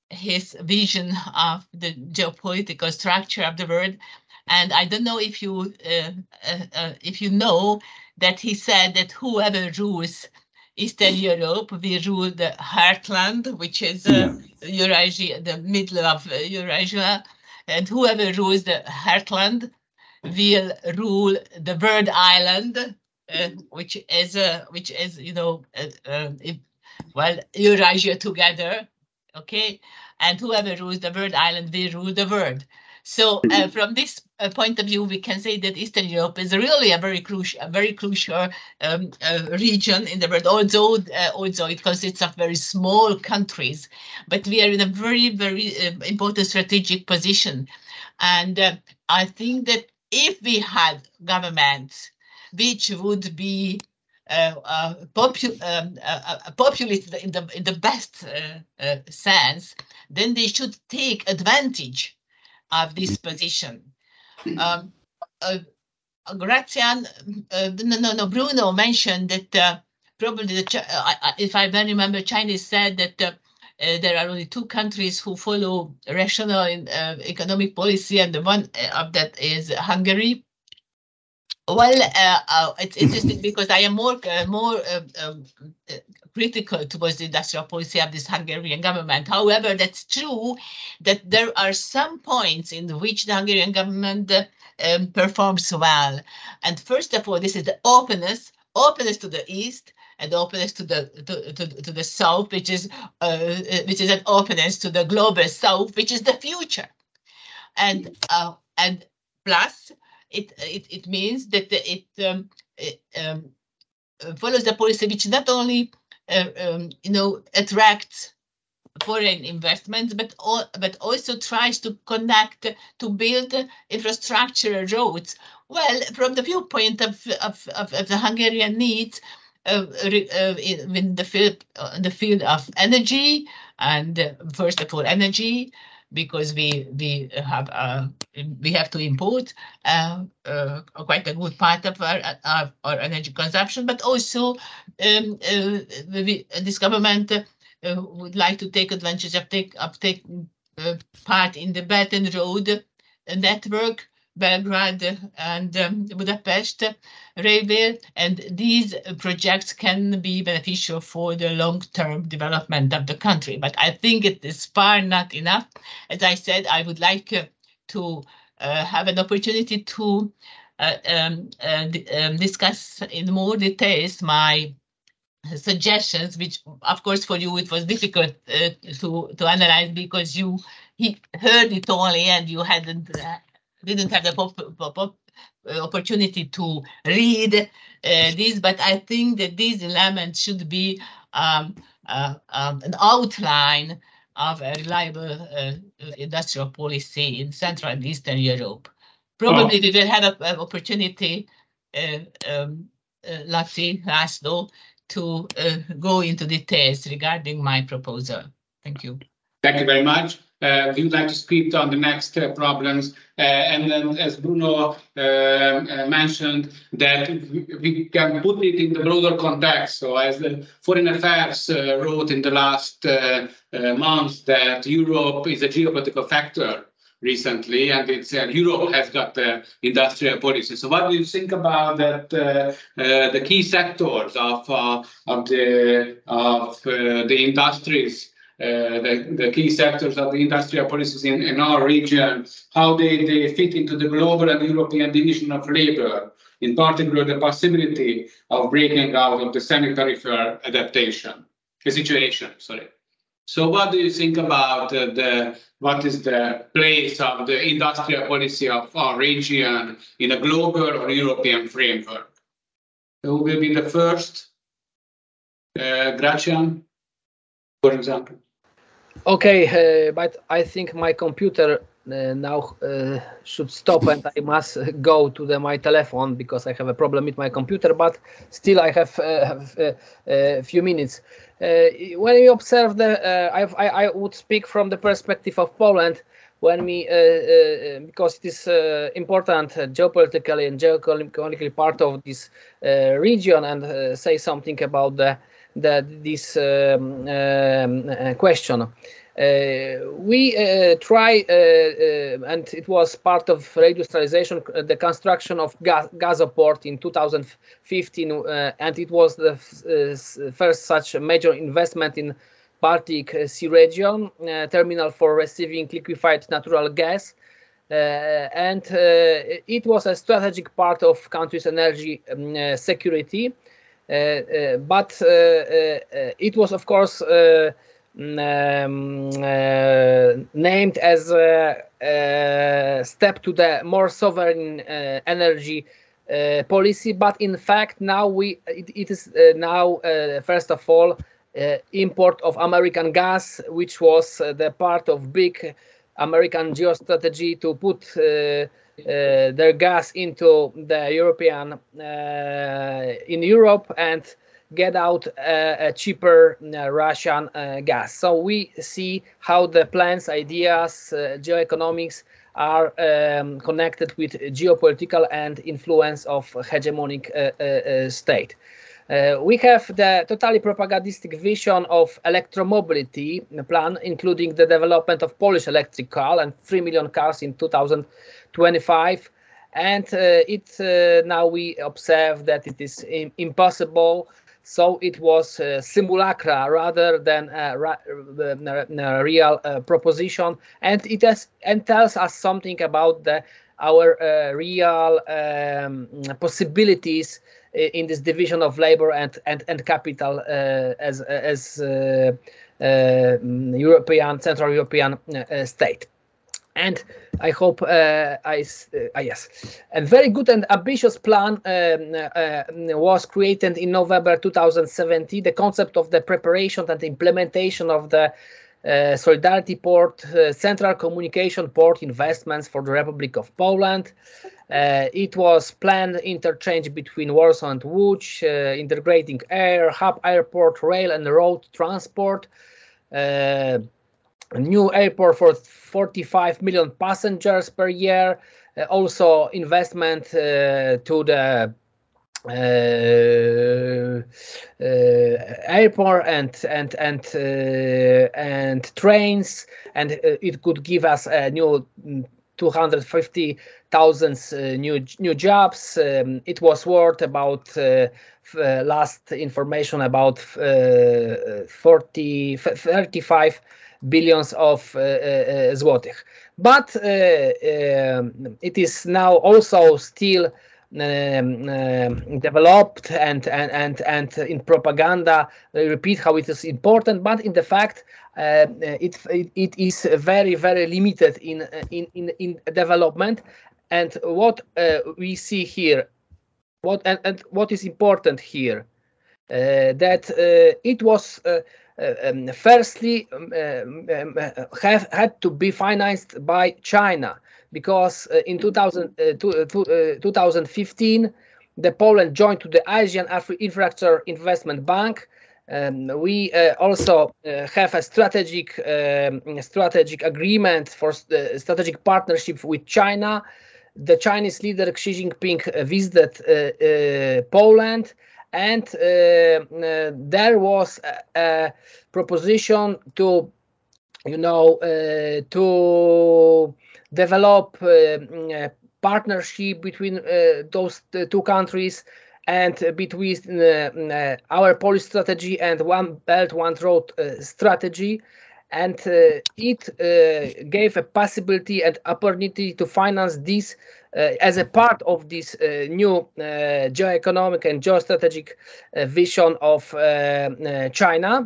his vision of the geopolitical structure of the world. And I don't know if you uh, uh, uh, if you know that he said that whoever rules Eastern Europe will rule the heartland, which is uh, yeah. Eurasia, the middle of uh, Eurasia, and whoever rules the heartland will rule the Bird Island, uh, which is uh, which is you know uh, uh, if, well Eurasia together, okay, and whoever rules the Bird Island will rule the world. So uh, from this uh, point of view, we can say that Eastern Europe is really a very crucial, a very crucial um, uh, region in the world. Although, uh, although it consists of very small countries, but we are in a very, very uh, important strategic position. And uh, I think that if we had governments which would be uh, uh, popu um, uh, uh, populist in the in the best uh, uh, sense, then they should take advantage of this position. Um, uh, Grazian, uh, no, no, no, Bruno mentioned that uh, probably, the, uh, if I then remember, Chinese said that uh, uh, there are only two countries who follow rational uh, economic policy, and the one of that is Hungary. Well, uh, uh, it's interesting because I am more uh, more uh, um, uh, critical towards the industrial policy of this Hungarian government. However, that's true that there are some points in which the Hungarian government uh, um, performs well. And first of all, this is the openness, openness to the east, and openness to the to, to, to the south, which is uh, which is an openness to the global south, which is the future. And uh, and plus. It, it it means that it, um, it um, follows the policy which not only uh, um, you know attracts foreign investments, but all, but also tries to connect, to build infrastructure roads. Well, from the viewpoint of of, of, of the Hungarian needs uh, uh, in, in the field uh, in the field of energy, and uh, first of all energy. Because we we have uh, we have to import uh, uh, quite a good part of our, our, our energy consumption, but also um, uh, we, this government uh, would like to take advantage of take of taking uh, part in the Belt and Road network, Belgrade and um, Budapest railway, and these projects can be beneficial for the long-term development of the country. But I think it is far not enough. As I said, I would like uh, to uh, have an opportunity to uh, um, uh, um, discuss in more details my suggestions, which of course for you it was difficult uh, to to analyze because you he heard it only and you hadn't uh, didn't have the pop, pop, pop, uh, opportunity to read uh, this, but I think that these elements should be um, uh, um, an outline of a reliable uh, industrial policy in Central and Eastern Europe. Probably oh. we will have an opportunity, uh, um, uh, Laci, László, to uh, go into details regarding my proposal. Thank you. Thank you very much. Uh, we would like to speak on the next uh, problems, uh, and then, as Bruno uh, uh, mentioned, that we, we can put it in the broader context. So, as the Foreign Affairs uh, wrote in the last uh, uh, months, that Europe is a geopolitical factor recently, and it's uh, Europe has got the industrial policy. So, what do you think about that? Uh, uh, the key sectors of uh, of the of uh, the industries. Uh, the, the key sectors of the industrial policies in, in our region, how they, they fit into the global and European division of labor, in particular the possibility of breaking out of the semi-tariff adaptation, the situation, sorry. So what do you think about uh, the, what is the place of the industrial policy of our region in a global or European framework? Who will be the first? Uh, Gracian, for example. Okay, uh, but I think my computer uh, now uh, should stop and I must go to the, my telephone because I have a problem with my computer, but still I have a uh, uh, few minutes. Uh, when we observe the, uh, I, I would speak from the perspective of Poland, when we, uh, uh, because it is uh, important uh, geopolitically and geoeconomically part of this uh, region, and uh, say something about the, the this um, um, uh, question. Uh, Uh, we uh, try, uh, uh, and it was part of reindustrialization, uh, the construction of gas, Gazoport in two thousand fifteen, uh, and it was the uh, first such major investment in Baltic Sea region, uh, terminal for receiving liquefied natural gas. Uh, and uh, it was a strategic part of country's energy um, uh, security. Uh, uh, but uh, uh, it was, of course, uh, um, uh, named as a, a step to the more sovereign uh, energy uh, policy. But in fact, now we it, it is uh, now uh, first of all uh, import of American gas, which was uh, the part of big American geostrategy to put uh, uh, their gas into the European uh, in Europe and get out uh, a cheaper uh, Russian uh, gas. So we see how the plans, ideas, uh, geoeconomics are um, connected with geopolitical and influence of hegemonic uh, uh, state. Uh, we have the totally propagandistic vision of electromobility plan, including the development of Polish electric car and three million cars in two thousand twenty-five. And uh, it uh, now we observe that it is im- impossible. So it was uh, simulacra rather than a, ra- a real uh, proposition, and it has and tells us something about the our uh, real um, possibilities in this division of labor and and, and capital uh, as as uh, uh, European Central European uh, state. And I hope uh, I uh, yes, a very good and ambitious plan um, uh, was created in November two thousand seventeen. The concept of the preparation and implementation of the uh, Solidarity Port, uh, Central Communication Port investments for the Republic of Poland. Uh, it was planned interchange between Warsaw and Łódź, uh, integrating air, hub airport, rail and road transport. Uh, a new airport for forty-five million passengers per year. Uh, also investment uh, to the uh, uh, airport and and and uh, and trains, and uh, it could give us a new two hundred fifty thousand uh, new new jobs. Um, it was worth about uh, f- uh, last information about uh, forty thirty-five billions of uh, uh, złotych. But uh, um, it is now also still um, um, developed and and and and in propaganda they repeat how it is important, but in the fact uh, it, it it is very very limited in in in, in development. And what uh, we see here, what and, and what is important here, uh, that uh, it was uh, uh, um, firstly um, um, have had to be financed by China, because uh, in two thousand, uh, to, uh, to, uh, two thousand fifteen the Poland joined to the Asian Infrastructure Investment Bank. Um, we uh, also uh, have a strategic um, strategic agreement for uh, strategic partnership with China. The Chinese leader Xi Jinping uh, visited uh, uh, Poland, and uh, uh, there was a, a proposition to, you know, uh, to develop uh, a partnership between uh, those two countries and between uh, uh, our Polish strategy and One Belt, One Road uh, strategy. And uh, it uh, gave a possibility and opportunity to finance this uh, as a part of this uh, new uh, geoeconomic and geostrategic uh, vision of uh, uh, China,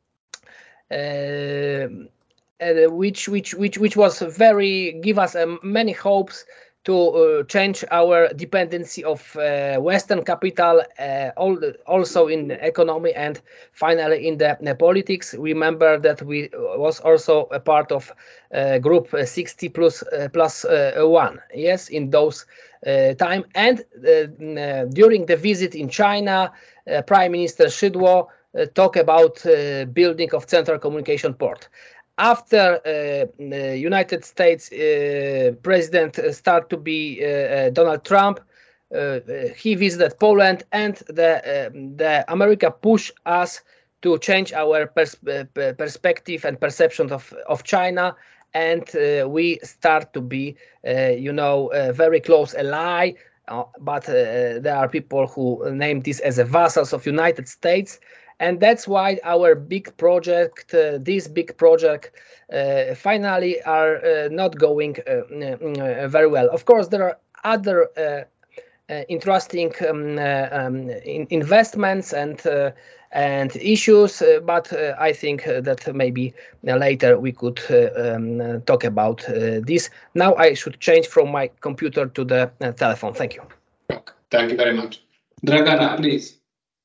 uh, uh, which which which which was very give us uh, many hopes to uh, change our dependency of uh, Western capital, uh, all the, also in economy and finally in the, the politics. Remember that we was also a part of uh, group sixty plus uh, plus uh, one, yes, in those uh, time. And uh, during the visit in China, uh, Prime Minister Szydło uh, talked about uh, building of Central Communication Port. After uh, the United States uh, president started to be uh, uh, Donald Trump, uh, he visited Poland, and the uh, the America pushed us to change our pers perspective and perception of, of China. And uh, we start to be, uh, you know, a very close ally. Uh, but uh, there are people who name this as a vassals of United States. And that's why our big project, uh, this big project, uh, finally are uh, not going uh, uh, very well. Of course, there are other uh, uh, interesting um, uh, um, in investments and uh, and issues, uh, but uh, I think uh, that maybe uh, later we could uh, um, talk about uh, this. Now I should change from my computer to the uh, telephone. Thank you. Thank you very much. Dragana, please.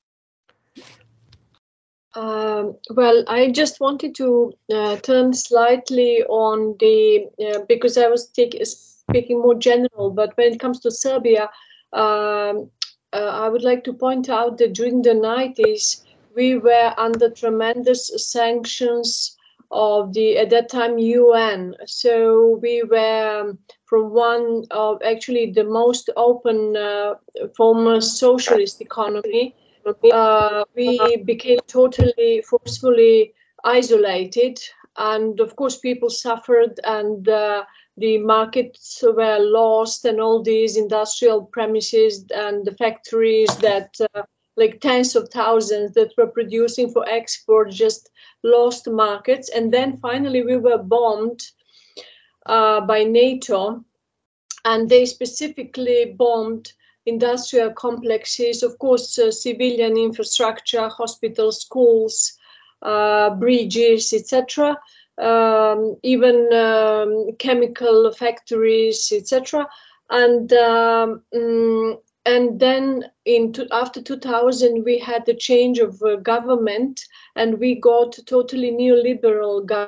Um, well, I just wanted to uh, turn slightly on the, uh, because I was take, speaking more general, but when it comes to Serbia, um, uh, I would like to point out that during the nineties, we were under tremendous sanctions of the, at that time, U N. So we were from one of actually the most open uh, former socialist economy. Uh, we became totally forcefully isolated, and of course people suffered, and uh, the markets were lost, and all these industrial premises and the factories that uh, like tens of thousands that were producing for export just lost markets. And then finally we were bombed uh, by NATO, and they specifically bombed industrial complexes, of course, uh, civilian infrastructure, hospitals, schools, uh, bridges, et cetera, um, even um, chemical factories, et cetera. And um, mm, and then in to, after two thousand, we had the change of uh, government, and we got totally neoliberal government.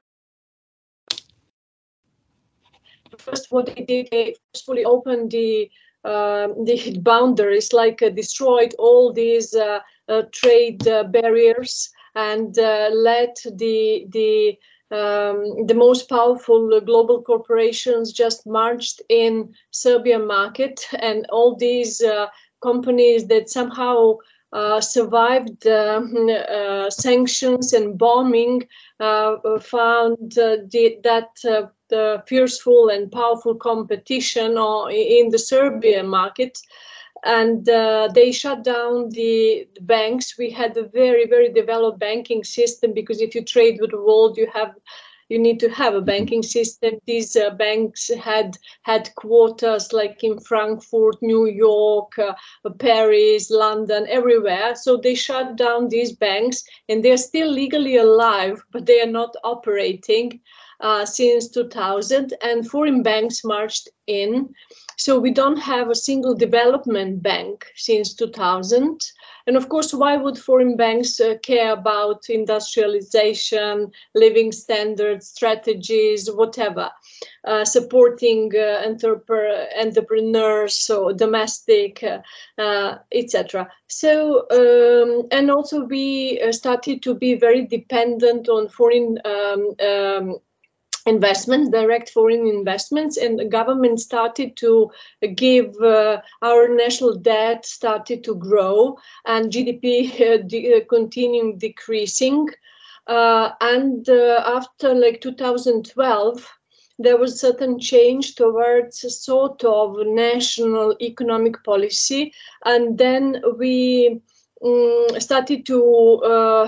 First, what they did, they forcefully opened the Uh, the boundaries, like uh, destroyed all these uh, uh, trade uh, barriers, and uh, let the the um, the most powerful global corporations just marched in Serbian market, and all these uh, companies that somehow uh, survived uh, uh, sanctions and bombing uh, found uh, the, that uh, the fierceful and powerful competition in the Serbian market, and uh, they shut down the, the banks. We had a very, very developed banking system, because if you trade with the world, you have you need to have a banking system. These uh, banks had headquarters like in Frankfurt, New York, uh, Paris, London, everywhere. So they shut down these banks, and they're still legally alive, but they are not operating uh, since two thousand, and foreign banks marched in. So we don't have a single development bank since two thousand. And of course, why would foreign banks uh, care about industrialization, living standards, strategies, whatever, uh, supporting uh, entrep- entrepreneurs, so domestic, uh, uh, et cetera. So, um, and also we uh, started to be very dependent on foreign um, um, investments, direct foreign investments, and the government started to give, uh, our national debt started to grow, and G D P uh, de- uh, continuing decreasing. Uh, and uh, after like two thousand twelve, there was certain change towards a sort of national economic policy, and then we um, started to uh,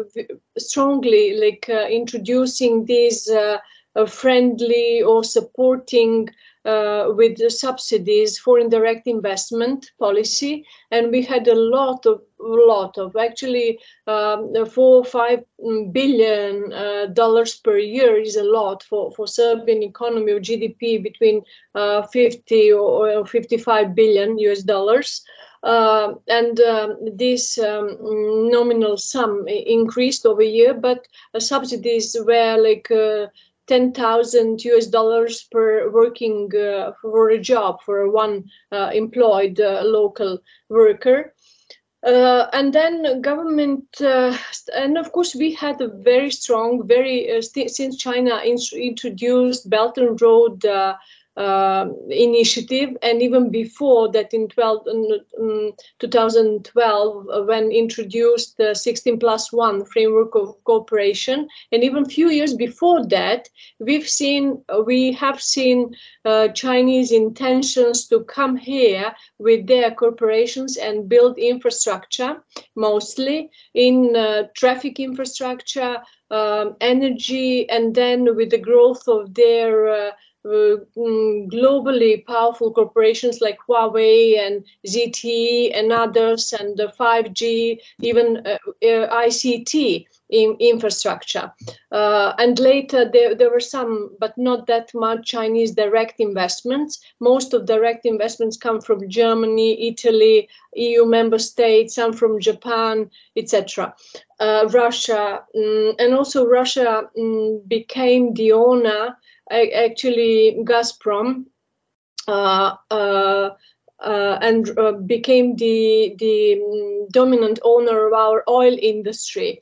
strongly like uh, introducing these uh, Uh, friendly or supporting uh, with the subsidies foreign direct investment policy, and we had a lot of lot of actually um, four or five billion uh, dollars per year is a lot for for Serbian economy, or G D P between uh, fifty or fifty-five billion U S dollars. Uh, and um, this um, nominal sum increased over year, but uh, subsidies were like uh, ten thousand U S dollars per working uh, for a job for a one uh, employed uh, local worker. Uh, and then government, uh, and of course we had a very strong, very, uh, st- since China in- introduced Belt and Road uh, uh, initiative, and even before that in twelve, um, two thousand twelve, uh, when introduced the sixteen plus one framework of cooperation, and even a few years before that, we've seen uh, we have seen uh, Chinese intentions to come here with their corporations and build infrastructure, mostly in uh, traffic infrastructure, um, energy, and then with the growth of their uh, uh, globally powerful corporations like Huawei and Z T E and others, and the five G, even uh, uh, I C T in infrastructure. Uh, and later there, there were some, but not that much, Chinese direct investments. Most of direct investments come from Germany, Italy, E U member states, some from Japan, et cetera. Uh, Russia, um, and also Russia um, became the owner, actually Gazprom, uh, uh, uh, and uh, became the, the um, dominant owner of our oil industry.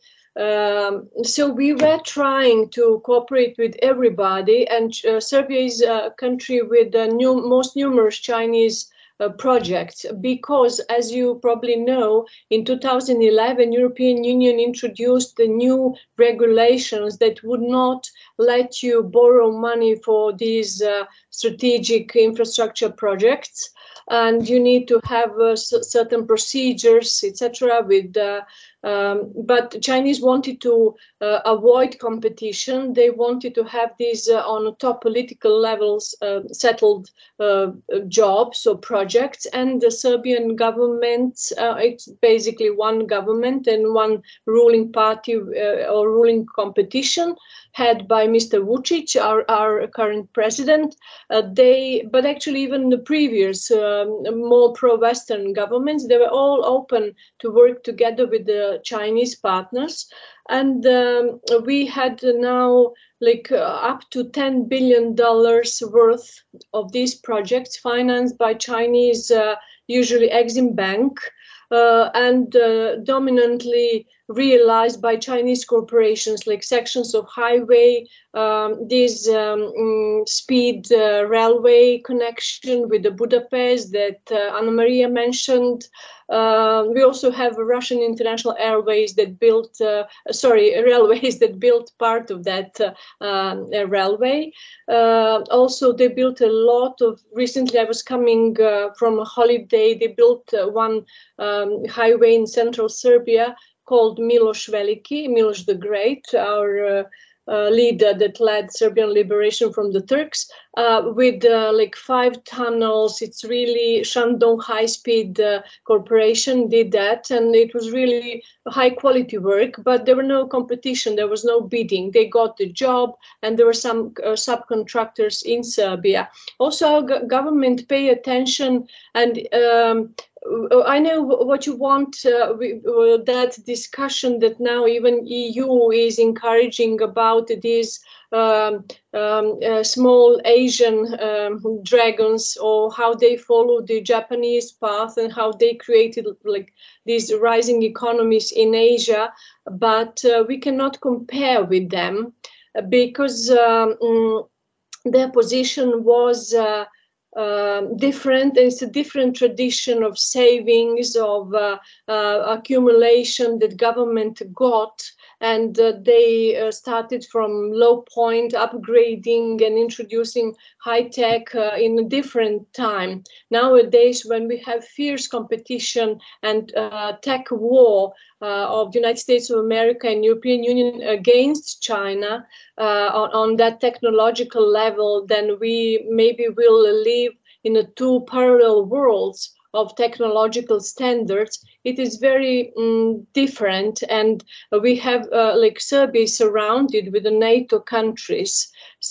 Um, so we were trying to cooperate with everybody, and uh, Serbia is a country with the new, most numerous Chinese uh, projects, because, as you probably know, in two thousand eleven, European Union introduced the new regulations that would not let you borrow money for these uh, strategic infrastructure projects, and you need to have uh, certain procedures, et cetera. With uh, um, but Chinese wanted to uh, avoid competition. They wanted to have these uh, on top political levels uh, settled uh, jobs or projects, and the Serbian government, uh, it's basically one government and one ruling party uh, or ruling competition, head by Mister Vučić, our, our current president. Uh, they, but actually even the previous um, more pro-Western governments, they were all open to work together with the Chinese partners. And um, we had now like uh, up to ten billion dollars worth of these projects financed by Chinese, uh, usually Exim Bank, uh, and uh, dominantly realized by Chinese corporations, like sections of highway, um, this um, um, speed uh, railway connection with the Budapest that uh, Anna Maria mentioned. Uh, we also have Russian International Airways that built, uh, sorry, railways that built part of that uh, um, railway. Uh, also, they built a lot of, recently I was coming uh, from a holiday, they built uh, one um, highway in central Serbia called Miloš Veliki, Miloš the Great, our uh, uh, leader that led Serbian liberation from the Turks, uh, with uh, like five tunnels. It's really Shandong High Speed uh, Corporation did that, and it was really high quality work, but there were no competition, there was no bidding. They got the job, and there were some uh, subcontractors in Serbia. Also, our go government pay attention, and um, I know what you want, uh, we, uh, that discussion that now even E U is encouraging about these um, um, uh, small Asian um, dragons, or how they follow the Japanese path and how they created like these rising economies in Asia. But uh, we cannot compare with them because um, their position was uh, Um, different. It's a different tradition of savings, of uh, uh, accumulation that government got, and uh, they uh, started from low point, upgrading and introducing high tech uh, in a different time. Nowadays, when we have fierce competition and uh, tech war uh, of the United States of America and European Union against China uh, on, on that technological level, then we maybe will live in a two parallel worlds of technological standards. It is very um, different, and we have uh, like Serbia is surrounded with the NATO countries.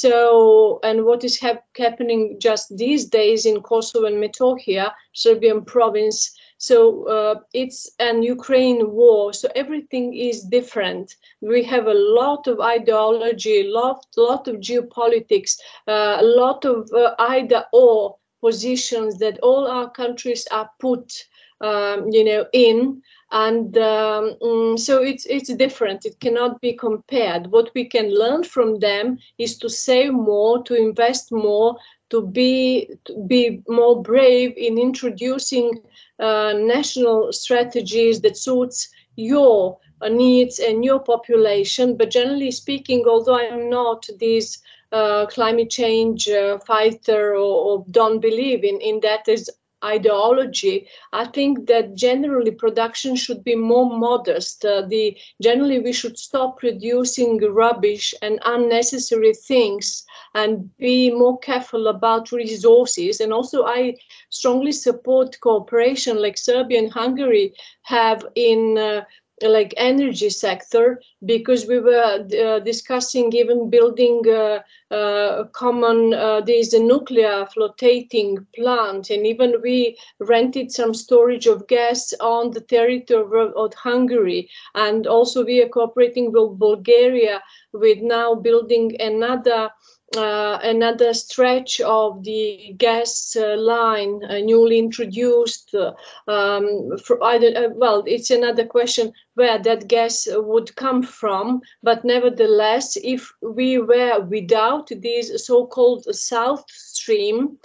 So, and what is hap happening just these days in Kosovo and Metohija, Serbian province. So uh, it's an Ukraine war. So everything is different. We have a lot of ideology, a lot, lot of geopolitics, uh, a lot of uh, either or positions that all our countries are put, um, you know, in, and um, mm, so it's it's different. It cannot be compared. What we can learn from them is to save more, to invest more, to be to be more brave in introducing uh, national strategies that suits your uh, needs and your population. But generally speaking, although I'm not this uh, climate change uh, fighter or, or don't believe in, in that as ideology, I think that generally production should be more modest. Uh, the generally we should stop producing rubbish and unnecessary things and be more careful about resources. And also I strongly support cooperation like Serbia and Hungary have in uh, like energy sector, because we were uh, discussing even building uh, uh, common uh, there's a nuclear flotating plant, and even we rented some storage of gas on the territory of, of Hungary. And also we are cooperating with Bulgaria with now building another Uh, another stretch of the gas uh, line uh, newly introduced. Uh, um, for either, uh, well, it's another question where that gas would come from. But nevertheless, if we were without this so-called South Stream,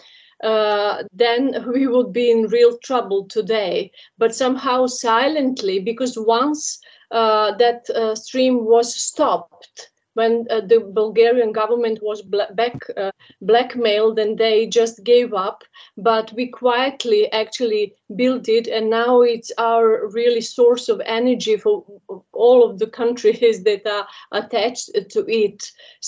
uh, then we would be in real trouble today. But somehow silently, because once uh, that uh, stream was stopped, when uh, the Bulgarian government was bla- back, uh, blackmailed, and they just gave up. But we quietly actually built it, and now it's our really source of energy for all of the countries that are attached to it.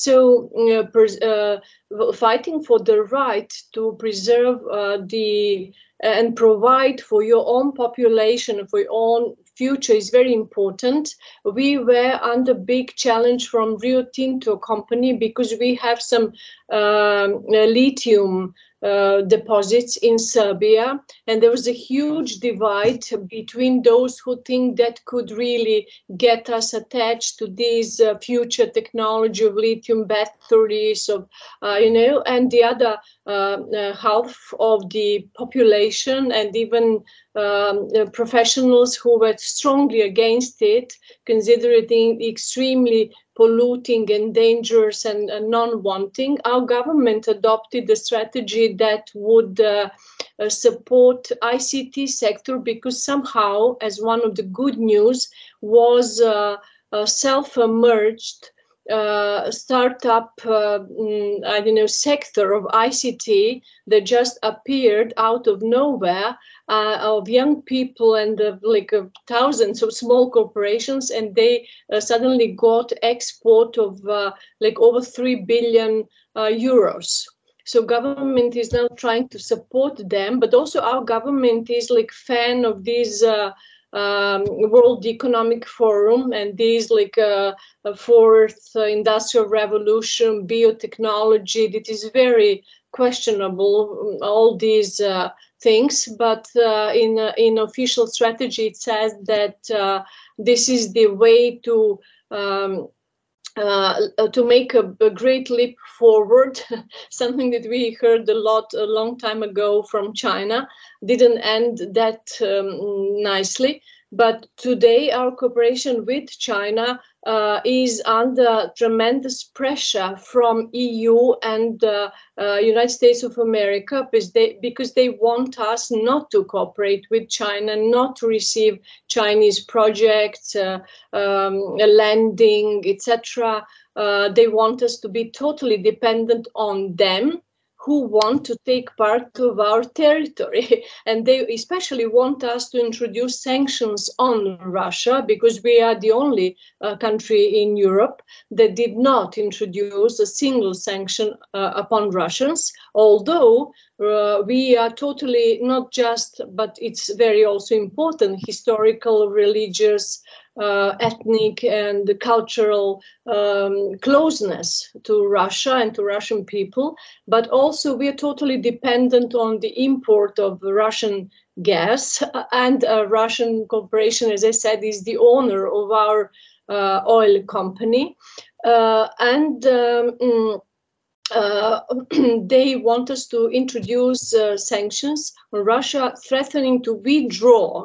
So uh, pers- uh, fighting for the right to preserve uh, the and provide for your own population, for your own future is very important. We were under big challenge from Rio Tinto company because we have some um, lithium uh, deposits in Serbia, and there was a huge divide between those who think that could really get us attached to this uh, future technology of lithium batteries, of uh, you know, and the other uh, uh, half of the population and even um, uh, professionals who were strongly against it, considering it extremely polluting and dangerous and uh, non-wanting. Our government adopted a strategy that would uh, uh, support I C T sector, because somehow, as one of the good news, was uh, a self-emerged uh, startup, uh, mm, I don't know, sector of I C T that just appeared out of nowhere, uh, of young people and uh, like uh, thousands of small corporations, and they uh, suddenly got export of uh, like over three billion uh, euros. So government is now trying to support them, but also our government is like fan of these uh, um, World Economic Forum and these like uh, a fourth uh, industrial revolution, biotechnology. That is very questionable, all these uh, things. But uh, in uh, in official strategy, it says that uh, this is the way to um, uh, to make a, a great leap forward. Something that we heard a lot a long time ago from China. Didn't end that um, nicely. But today, our cooperation with China uh, is under tremendous pressure from E U and uh, uh, United States of America, because they, because they want us not to cooperate with China, not to receive Chinese projects, uh, um, lending, et cetera. Uh, they want us to be totally dependent on them, who want to take part of our territory. And they especially want us to introduce sanctions on Russia, because we are the only uh, country in Europe that did not introduce a single sanction uh, upon Russians, although uh, we are totally not just, but it's very also important, historical, religious, Uh, ethnic and cultural um, closeness to Russia and to Russian people, but also we are totally dependent on the import of Russian gas, and uh, Russian corporation, as I said, is the owner of our uh, oil company, uh, and um, Uh, they want us to introduce uh, sanctions on Russia, threatening to withdraw,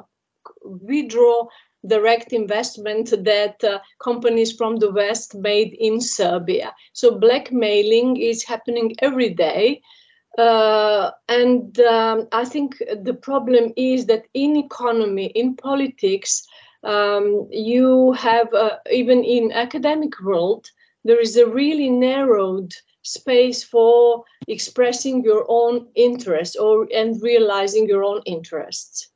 withdraw direct investment that uh, companies from the West made in Serbia. So blackmailing is happening every day. Uh, and um, I think the problem is that in economy, in politics, um, you have, uh, even in academic world, there is a really narrowed space for expressing your own interests or and realizing your own interests.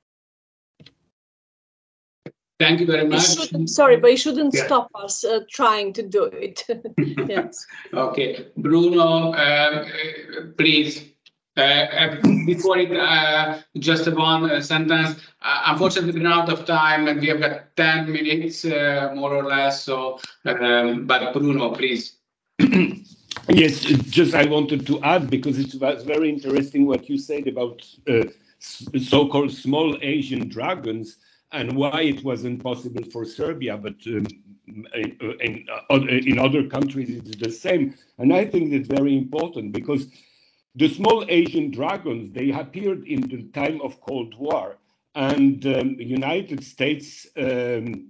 Thank you very much. Sorry, but you shouldn't yeah. stop us uh, trying to do it. Yes. Okay, Bruno, uh, please. Uh, before it, uh, just one uh, sentence. Uh, unfortunately, we're out of time, and we have got ten minutes, uh, more or less. So, um, but Bruno, please. Yes, just I wanted to add, because it was very interesting what you said about uh, so-called small Asian dragons and why it wasn't possible for Serbia, but um, in, in, uh, in other countries it's the same. And I think it's very important, because the small Asian dragons, they appeared in the time of Cold War, and um, the United States um,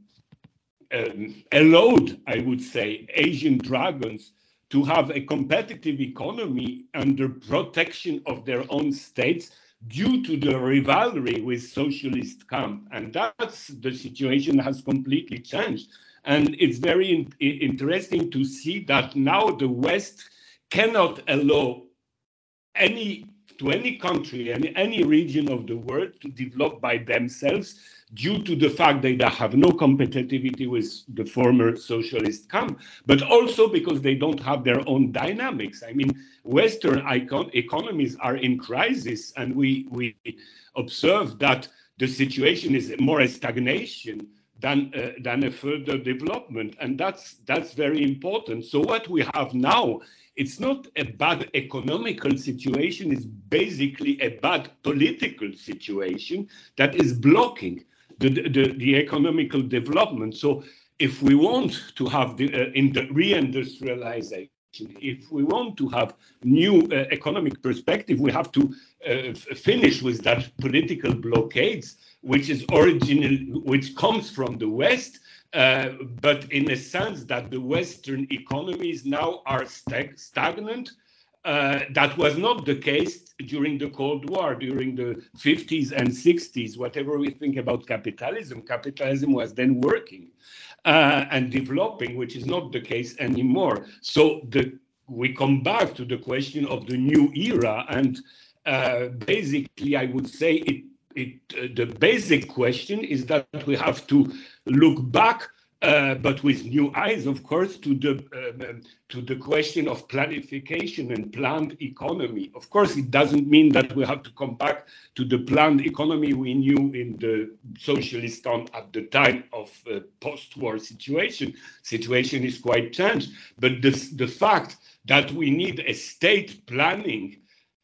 um, allowed, I would say, Asian dragons to have a competitive economy under protection of their own states due to the rivalry with socialist camp. And that's the situation has completely changed. And it's very in, interesting to see that now the West cannot allow any to any country and any, any region of the world to develop by themselves due to the fact that they have no competitivity with the former socialist camp, but also because they don't have their own dynamics. I mean, Western icon economies are in crisis, and we, we observe that the situation is more a stagnation than, uh, than a further development, and that's, that's very important. So what we have now, it's not a bad economical situation, it's basically a bad political situation that is blocking the, the, the economical development. So if we want to have the uh, in the reindustrialization, if we want to have new uh, economic perspective, we have to uh, finish with that political blockades, which is original, which comes from the West. Uh, but in a sense that the Western economies now are stag stagnant. Uh, that was not the case during the Cold War, during the fifties and sixties. Whatever we think about capitalism, capitalism was then working uh, and developing, which is not the case anymore. So the, we come back to the question of the new era, and uh, basically I would say it It, uh, the basic question is that we have to look back, uh, but with new eyes, of course, to the um, to the question of planification and planned economy. Of course, it doesn't mean that we have to come back to the planned economy we knew in the socialist on at the time of uh, post-war situation. Situation is quite changed, but this, the fact that we need a state planning.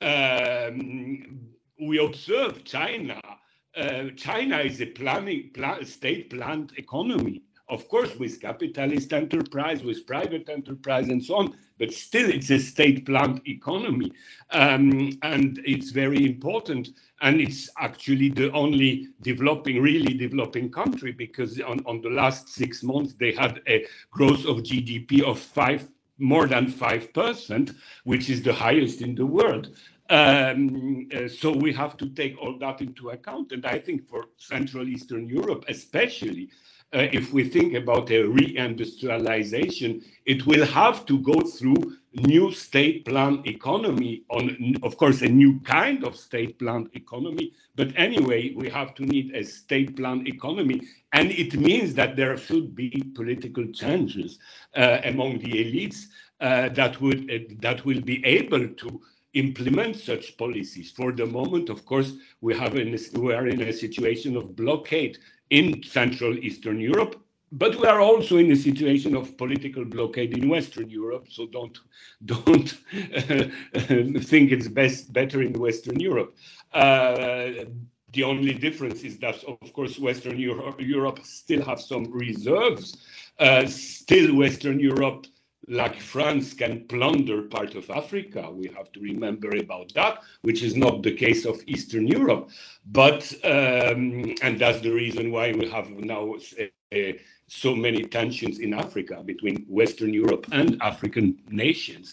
Um, We observe China. Uh, China is a planning, plan, state-planned economy, of course, with capitalist enterprise, with private enterprise, and so on. But still, it's a state-planned economy, um, and it's very important. And it's actually the only developing, really developing country, because on, on the last six months they had a growth of G D P of five, more than five percent, which is the highest in the world. Um, uh, so we have to take all that into account. And I think for Central Eastern Europe, especially, uh, if we think about a reindustrialization, it will have to go through new state planned economy, on, of course, a new kind of state planned economy. But anyway, we have to need a state planned economy. And it means that there should be political changes uh, among the elites uh, that, would, uh, that will be able to implement such policies. For the moment, of course, we have in a, we are in a situation of blockade in Central Eastern Europe, but we are also in a situation of political blockade in Western Europe. So don't don't uh, think it's best better in Western Europe. Uh, the only difference is that, of course, Western Europe, Europe still have some reserves. Uh, still, Western Europe, like France, can plunder part of Africa. We have to remember about that, which is not the case of Eastern Europe. But, um, and that's the reason why we have now uh, so many tensions in Africa between Western Europe and African nations.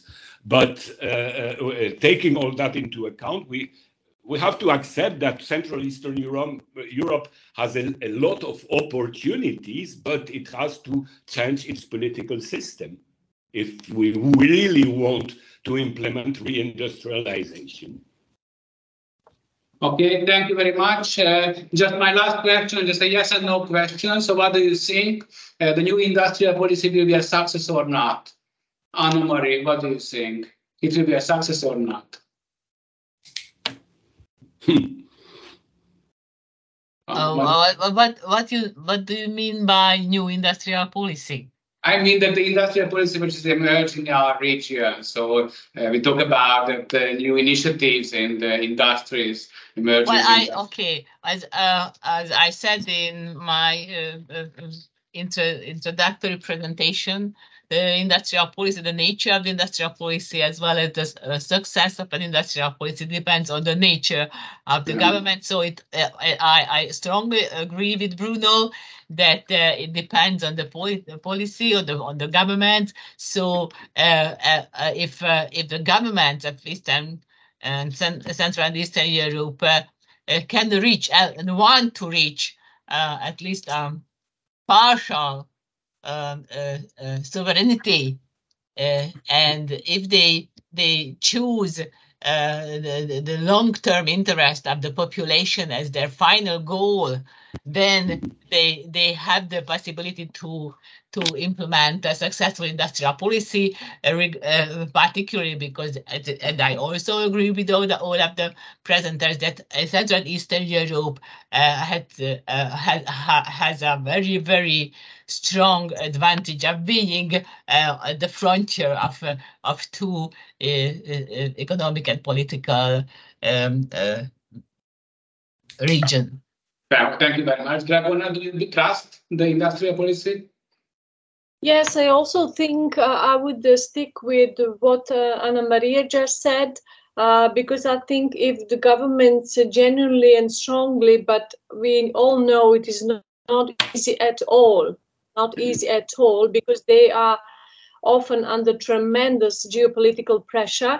But uh, uh, taking all that into account, we we have to accept that Central Eastern Europe, Europe has a, a lot of opportunities, but it has to change its political system if we really want to implement reindustrialization. Okay, thank you very much. Uh, just my last question, just a yes and no question. So what do you think? Uh, the new industrial policy will be a success or not? Anna-Marie, what do you think? It will be a success or not? Oh, what, what, what, you, what do you mean by new industrial policy? I mean that the industrial policy which is emerging in our region. So uh, we talk about that the new initiatives in the industries emerging. Well, I okay. As uh, as I said in my uh, uh, intro, introductory presentation, the industrial policy, the nature of the industrial policy, as well as the uh, success of an industrial policy, depends on the nature of the mm-hmm. government. So it, uh, I, I strongly agree with Bruno that uh, it depends on the, poli the policy or the on the government. So uh, uh, if uh, if the government of Eastern and Central and Eastern Europe uh, uh, can reach uh, and want to reach uh, at least um, partial Um, uh, uh, sovereignty, uh, and if they they choose uh, the, the long-term interest of the population as their final goal, then they they have the possibility to to implement a successful industrial policy, uh, uh, particularly because, and I also agree with all, the, all of the presenters, that uh, Central and Eastern Europe uh, had, uh, has, has a very, very strong advantage of being uh, at the frontier of, uh, of two uh, uh, economic and political um, uh, regions. Thank you very much. Dragona, do you trust the industrial policy? Yes, I also think uh, I would uh, stick with what uh, Anna-Maria just said, uh, because I think if the governments uh, genuinely and strongly, but we all know it is not, not easy at all, not easy at all, because they are often under tremendous geopolitical pressure.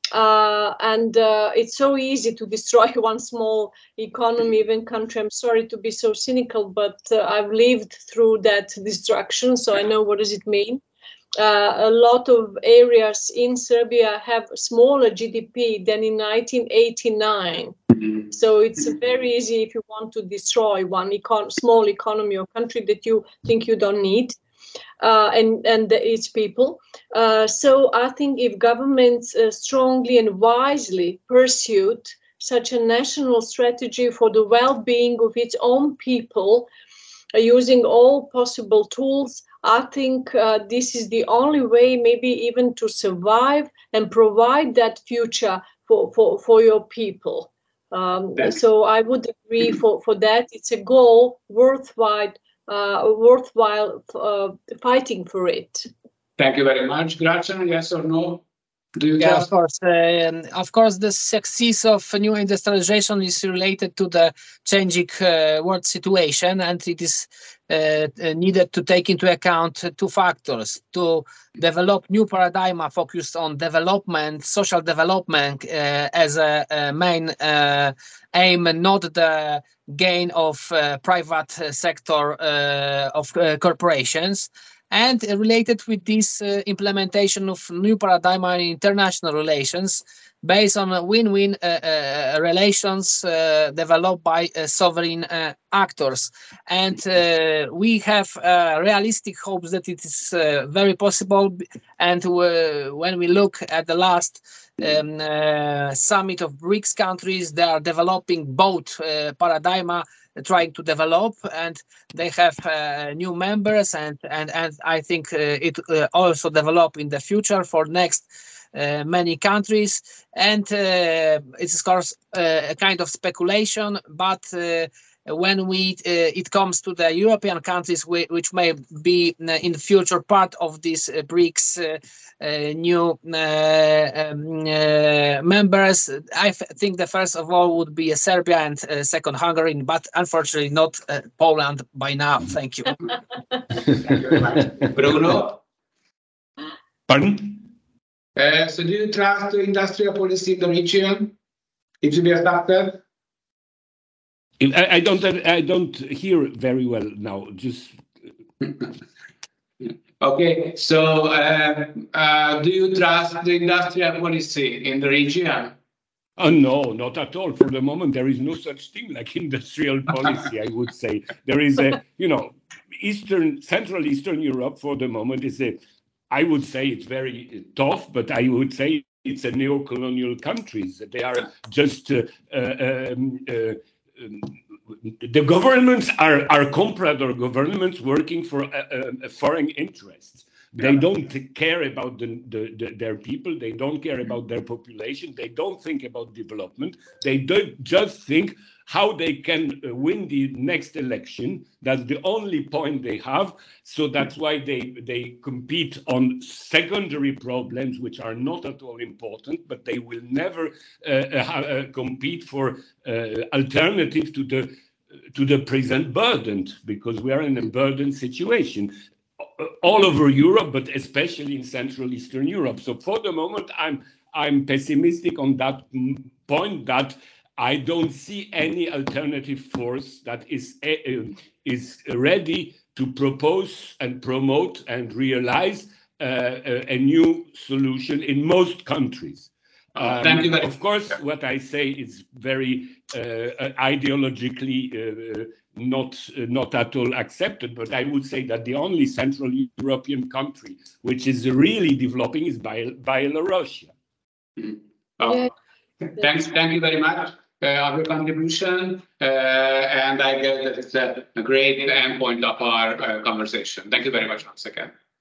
Uh, and uh, it's so easy to destroy one small economy, even country. I'm sorry to be so cynical, but uh, I've lived through that destruction, so I know what does it mean. Uh, a lot of areas in Serbia have smaller G D P than in nineteen eighty-nine. So it's very easy if you want to destroy one econ small economy or country that you think you don't need. Uh, and, and the, its people. Uh, so I think if governments uh, strongly and wisely pursued such a national strategy for the well-being of its own people, uh, using all possible tools, I think uh, this is the only way maybe even to survive and provide that future for, for, for your people. Um, so I would agree for, for that. It's a goal worthwhile Uh, worthwhile uh, fighting for it. Thank you very much. Gracian, yes or no? Do you yeah, just... of course. Uh, of course, the success of new industrialization is related to the changing uh, world situation, and it is uh, needed to take into account two factors: to develop new paradigm focused on development, social development uh, as a, a main uh, aim, and not the gain of uh, private sector uh, of uh, corporations. And related with this uh, implementation of new paradigm in international relations based on win-win uh, uh, relations uh, developed by uh, sovereign uh, actors. And uh, we have uh, realistic hopes that it is uh, very possible. And uh, when we look at the last um, uh, summit of BRICS countries, they are developing both uh, paradigm trying to develop, and they have uh, new members, and and and I think uh, it uh, also develop in the future for next uh, many countries. And uh, it's of course uh, a kind of speculation, but uh, when we uh, it comes to the European countries, we, which may be in the future part of this uh, BRICS uh, uh, new uh, um, uh, members, I think the first of all would be uh, Serbia, and uh, second Hungary, but unfortunately not uh, Poland by now. Thank you. Bruno? Pardon? Uh, so do you trust the industrial policy in the region? It should be adapted? I, I don't I don't hear very well now. Just okay. So uh, uh, do you trust the industrial policy in the region? Oh, no, not at all. For the moment, there is no such thing like industrial policy, I would say. There is a, you know, Eastern, Central Eastern Europe for the moment is a, I would say it's very tough, but I would say it's a neo-colonial countries. They are just, uh, uh, um, uh, um, the governments are, are comprador governments working for uh, uh, foreign interests. They don't care about the, the, the, their people. They don't care about their population. They don't think about development. They do just think how they can win the next election. That's the only point they have. So that's why they, they compete on secondary problems, which are not at all important, but they will never uh, uh, compete for uh, alternatives to the, to the present burden, because we are in a burdened situation all over Europe, but especially in Central Eastern Europe. So for the moment, I'm I'm pessimistic on that point, that I don't see any alternative force that is uh, is ready to propose and promote and realize uh, a, a new solution in most countries. Um, Thank you very of course, what I say is very uh, ideologically uh, not uh, not at all accepted, but I would say that the only Central European country which is really developing is Belarus. Mm-hmm. Oh, yeah. Thanks, thank you very much uh, of your contribution, uh, and I guess that it's a, a great endpoint of our uh, conversation. Thank you very much once again.